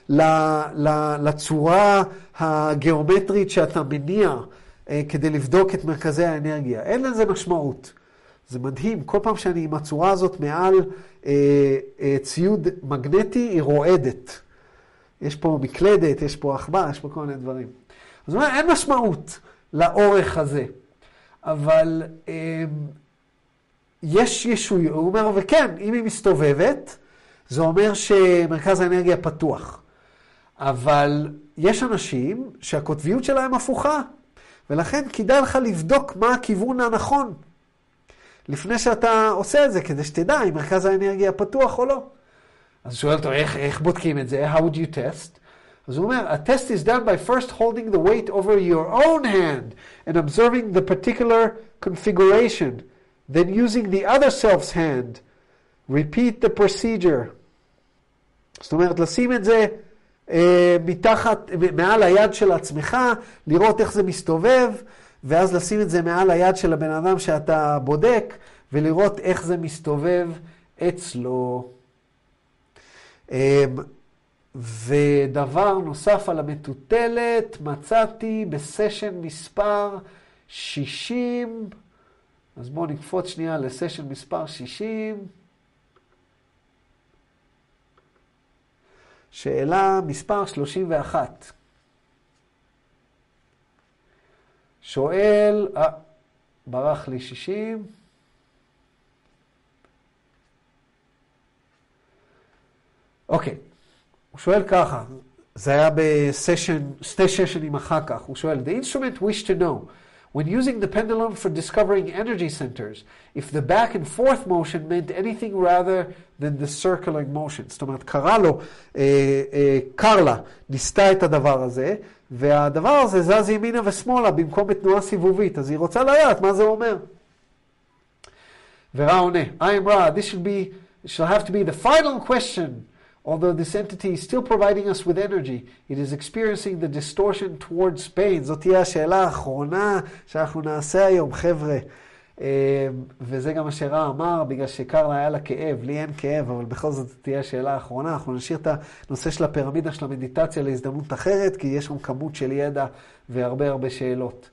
לצורה הגיאומטרית שאתה מניע כדי לבדוק את מרכזי האנרגיה. אין לזה משמעות. זה מדהים, כל פעם שאני עם הצורה הזאת מעל ציוד מגנטי, היא רועדת. יש פה מקלדת, יש פה עכבר, יש פה כל מיני דברים. זאת אומרת, אין משמעות לאורך הזה. אבל יש ישוי, הוא אומר, וכן, אם היא מסתובבת, זה אומר שמרכז האנרגיה פתוח. אבל יש אנשים שהקוטביות שלהם הפוכה, ולכן כדאי לך לבדוק מה הכיוון הנכון, לפני שאתה עושה את זה, כדי שתדע אם מרכז האנרגיה פתוח או לא. אז שואל אותו, איך בודקים את זה? How would you test? אז הוא אומר, a test is done by first holding the weight over your own hand and observing the particular configuration. Then using the other self's hand, repeat the procedure. זאת אומרת, לשים את זה מתחת, מעל היד של עצמך, לראות איך זה מסתובב, ואז לשים את זה מעל היד של הבן אדם שאתה בודק, ולראות איך זה מסתובב אצלו. ודבר נוסף על המטוטלת, מצאתי בסשן מספר 60, אז בואו נקפוץ שנייה לסשן מספר 60. שאלה מספר 31. שואל, ברח לי 60. אוקיי, הוא שואל ככה, זה היה בסשן, שתי ששנים אחר כך, הוא שואל, The instrument wished to know, when using the pendulum for discovering energy centers, if the back and forth motion meant anything rather than the circling motion. זאת אומרת, קרלה ניסתה את הדבר הזה, והדבר הזה זז ימינה ושמאלה במקום בתנועה סיבובית, אז היא רוצה לדעת מה זה אומר. ורע עונה, I am Ra, this shall have to be the final question. Although this entity is still providing us with energy, it is experiencing the distortion towards pain. זאת תהיה השאלה האחרונה שאנחנו נעשה היום, חבר'ה. וזה גם מה שרע אמר, בגלל שקרלה היה לה כאב, לי אין כאב, אבל בכל זאת תהיה השאלה האחרונה. אנחנו נשאיר את הנושא של הפירמידה של המדיטציה להזדמנות אחרת, כי יש שם כמות של ידע והרבה שאלות.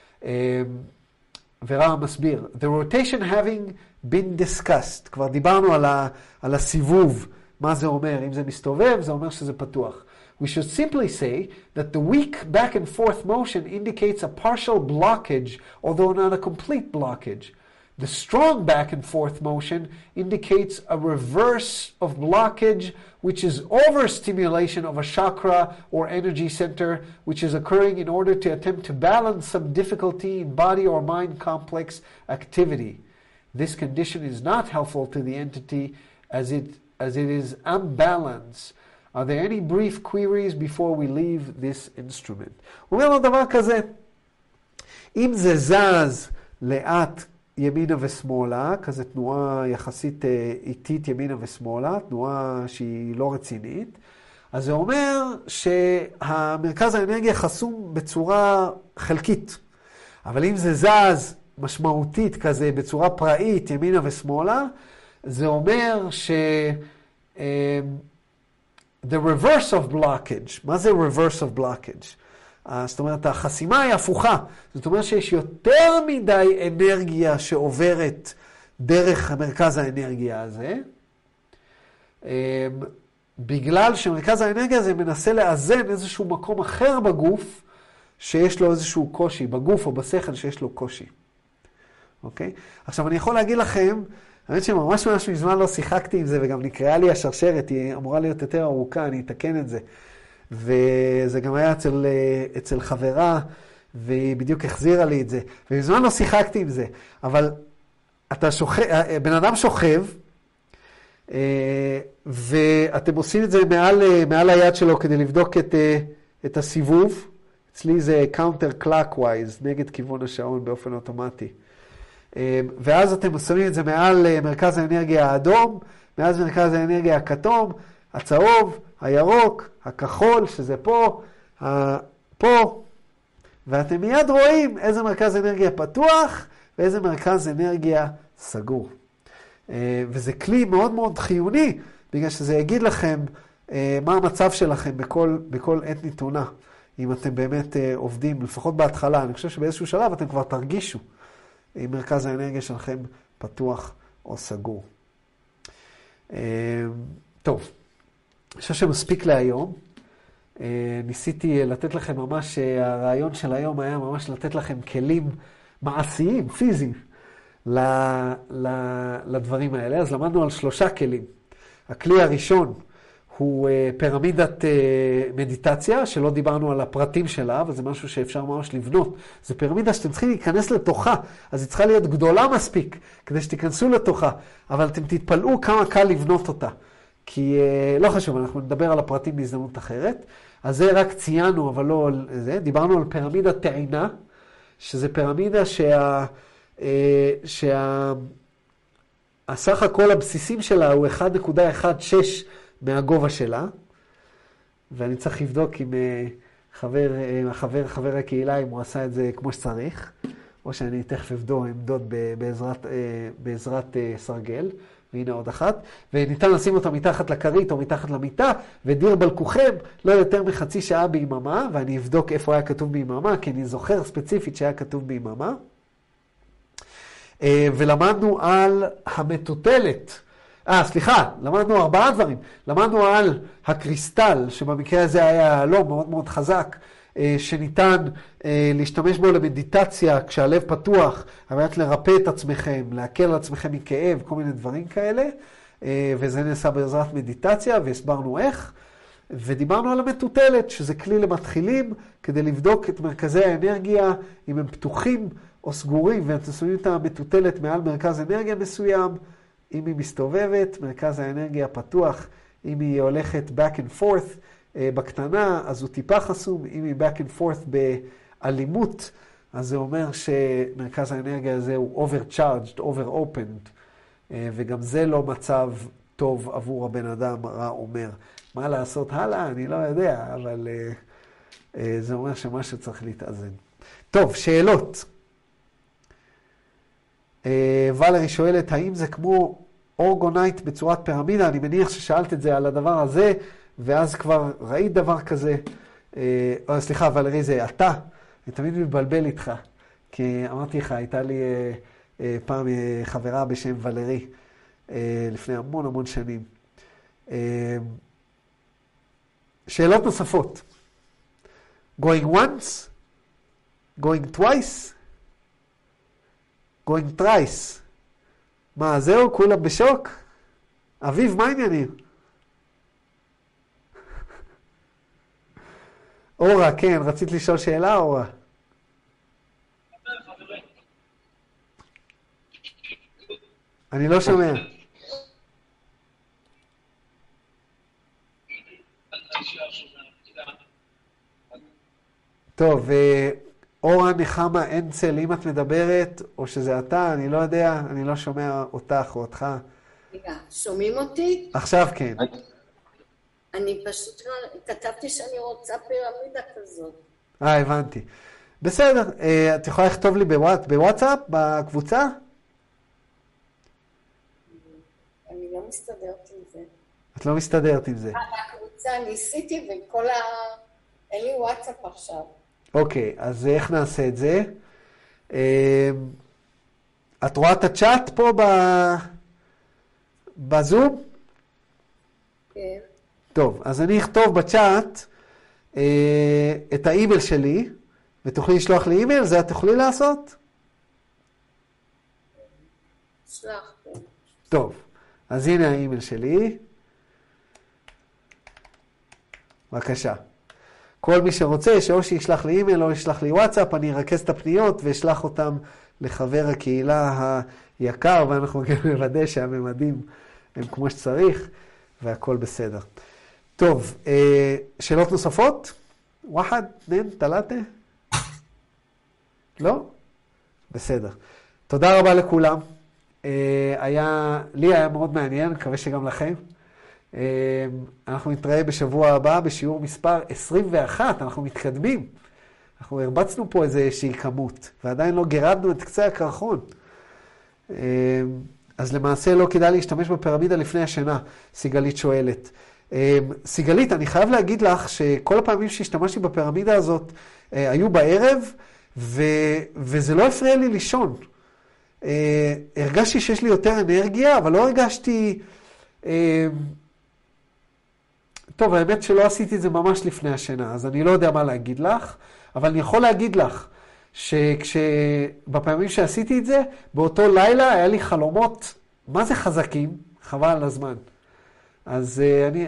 ורע מסביר, The rotation having been discussed, כבר דיברנו על הסיבוב, מה זה אומר? אם זה מסתובב, זה אומר שזה פתוח. We should simply say that the weak back and forth motion indicates a partial blockage, although not a complete blockage. The strong back and forth motion indicates a reverse of blockage, which is overstimulation of a chakra or energy center, which is occurring in order to attempt to balance some difficulty in body or mind complex activity. This condition is not helpful to the entity as it is unbalanced. Are there any brief queries before we leave this instrument? הוא אומר לו דבר כזה, אם זה זז לאט ימינה ושמאלה, כזה תנועה יחסית איטית ימינה ושמאלה, תנועה שהיא לא רצינית, אז זה אומר שהמרכז האנרגיה חסום בצורה חלקית. אבל אם זה זז משמעותית כזה בצורה פראית ימינה ושמאלה, זה אומר the reverse of blockage. מה זה reverse of blockage? זאת אומרת, החסימה היא הפוכה. זאת אומרת שיש יותר מדי אנרגיה שעוברת דרך מרכז האנרגיה הזה, בגלל שמרכז האנרגיה הזה מנסה לאזן איזשהו מקום אחר בגוף, שיש לו איזשהו קושי, בגוף או בשכל שיש לו קושי. אוקיי? עכשיו אני יכול להגיד לכם, האמת שממש מזמן לא שיחקתי עם זה, וגם נקראה לי השרשרת, היא אמורה להיות יותר ארוכה, אני אתקן את זה. וזה גם היה אצל חברה, והיא בדיוק החזירה לי את זה. ומזמן לא שיחקתי עם זה, אבל בן אדם שוכב, ואתם עושים את זה מעל היד שלו כדי לבדוק את הסיבוב. אצלי זה counter clockwise, נגד כיוון השעון באופן אוטומטי. ואז אתם שמים את זה מעל מרכז האנרגיה האדום, מעל מרכז האנרגיה הכתום, הצהוב, הירוק, הכחול, שזה פה, ואתם מיד רואים איזה מרכז אנרגיה פתוח ואיזה מרכז אנרגיה סגור. וזה כלי מאוד מאוד חיוני, בגלל שזה יגיד לכם מה המצב שלכם בכל עת נתונה, אם אתם באמת עובדים, לפחות בהתחלה. אני חושב שבאיזשהו שלב אתם כבר תרגישו אם מרכז האנרגיה שלכם פתוח או סגור. טוב, אני חושב שמספיק להיום. ניסיתי לתת לכם ממש, הרעיון של היום היה ממש לתת לכם כלים מעשיים, פיזיים, לדברים האלה. אז למדנו על 3 כלים. הכלי הראשון הוא פירמידת מדיטציה, שלא דיברנו על הפרטים שלה, אבל זה משהו שאפשר ממש לבנות. זה פירמידה שאתם צריכים להיכנס לתוכה, אז היא צריכה להיות גדולה מספיק כדי שתיכנסו לתוכה, אבל אתם תתפלאו כמה קל לבנות אותה. כי לא חשוב, אנחנו נדבר על הפרטים בהזדמנות אחרת. אז זה רק ציינו, אבל לא על זה. דיברנו על פירמידת טעינה, שזה פירמידה הסך הכל הבסיסים שלה הוא 1.16 מהגובה שלה, ואני צריך לבדוק עם חבר הקהילה אם הוא עשה את זה כמו שצריך, או שאני תכף אמדוד בעזרת סרגל. והנה עוד אחת, וניתן לשים אותה מתחת לכרית או מתחת למיטה, ודיר בלקוכם לא יותר מחצי שעה ביממה, ואני אבדוק איפה היה כתוב ביממה, כי אני זוכר ספציפית שהיה כתוב ביממה. ולמדנו על המטוטלת. למדנו 4 דברים. למדנו על הקריסטל, שבמקרה הזה היה לא מאוד מאוד חזק, שניתן להשתמש בו למדיטציה כשהלב פתוח, על מנת לרפא את עצמכם, להקל על עצמכם מכאב, כל מיני דברים כאלה, וזה נעשה בעזרת מדיטציה, והסברנו איך. ודיברנו על המטוטלת, שזה כלי למתחילים, כדי לבדוק את מרכזי האנרגיה, אם הם פתוחים או סגורים, ואתם שמים את המטוטלת מעל מרכז אנרגיה מסוים, אם היא מסתובבת, מרכז האנרגיה פתוח, אם היא הולכת back and forth, בקטנה, אז הוא טיפה חסום. אם היא back and forth באלימות, אז זה אומר שמרכז האנרגיה הזה הוא overcharged, over-opened, וגם זה לא מצב טוב עבור הבן אדם, רע אומר. מה לעשות הלאה? אני לא יודע, אבל זה אומר שמשהו צריך להתאזן. טוב, שאלות. ולרי שואלת, האם זה כמו אורגונייט בצורת פירמידה? אני מניח ששאלת את זה על הדבר הזה, ואז כבר ראית דבר כזה. סליחה, ולרי, זה אתה. אני תמיד מתבלבל איתך. כי אמרתי לך, הייתה לי פעם חברה בשם ולרי, לפני המון המון שנים. שאלות נוספות. Going once? Going twice? Going thrice? מה, זהו? כולם בשוק? אביב, מה העניינים? אורה, כן, רצית לשאול שאלה, אורה? אני לא שומע. טוב, אורה נחמה אנצל, אם את מדברת, או שזה אתה, אני לא יודע, אני לא שומע אותך או אותך. רגע, שומעים אותי? עכשיו כן. אני פשוט כתבתי שאני רוצה פירמידה כזאת. הבנתי. בסדר, את יכולה לכתוב לי בוואטסאפ, בקבוצה? אני לא מסתדרת עם זה. את לא מסתדרת עם זה. בקבוצה ניסיתי אין לי וואטסאפ עכשיו. אוקיי, אז איך נעשה את זה? את רואה את הצ'אט פה בזום? כן. טוב, אז אני אכתוב בצ'אט את האימייל שלי, ותוכלי לשלוח לי אימייל, זה את תוכלי לעשות? שלח. טוב, אז הנה האימייל שלי. בבקשה. כל מי שרוצה, שאו שישלח לי אימייל או ישלח לי וואטסאפ, אני ארכז את הפניות ואשלח אותם לחבר הקהילה היקר, ואנחנו גם נוודא שהממדים הם כמו שצריך, והכל בסדר. טוב, שאלות נוספות? וואחד, נן, תלתה? לא? בסדר. תודה רבה לכולם. לי היה מאוד מעניין, מקווה שגם לכם. אנחנו נתראה בשבוע הבא בשיעור מספר 21, אנחנו מתקדמים. אנחנו הרבצנו פה איזושהי כמות, ועדיין לא גירדנו את קצה הקרחון. אז למעשה לא כדאי להשתמש בפירמידה לפני השינה, סיגלית שואלת. סיגלית, אני חייב להגיד לך שכל הפעמים שהשתמשתי בפירמידה הזאת היו בערב, וזה לא הפריע לי לישון. הרגשתי שיש לי יותר אנרגיה, אבל לא הרגשתי טוב, האמת שלא עשיתי את זה ממש לפני השינה, אז אני לא יודע מה להגיד לך, אבל אני יכול להגיד לך שבפעמים שעשיתי את זה, באותו לילה היה לי חלומות, מה זה חזקים? חבל על הזמן. אז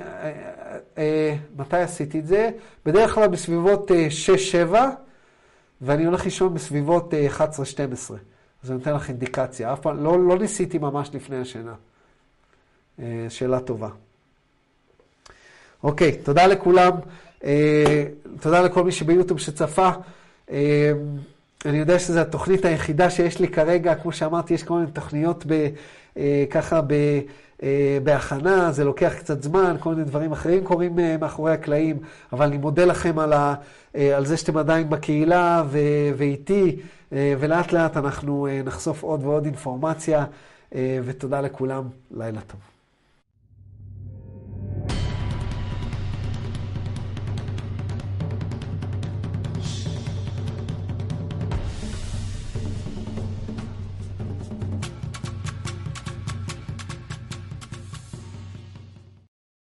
מתי עשיתי את זה? בדרך כלל בסביבות 6-7, ואני הולך לישון בסביבות 11-12. אז אני נותן לך אינדיקציה. אף פעם, לא ניסיתי ממש לפני השינה. שאלה טובה. אוקיי, תודה לכולם. תודה לכל מי שביוטיוב שצפה. אני יודע שזו התוכנית היחידה שיש לי כרגע. כמו שאמרתי, יש כל מיני תוכניות ככה בהכנה, זה לוקח קצת זמן, כל מיני דברים אחרים קורים מאחורי הקלעים, אבל אני מודה לכם על זה שאתם עדיין בקהילה ואיתי, ולאט לאט אנחנו נחשוף עוד ועוד אינפורמציה, ותודה לכולם, לילה טוב.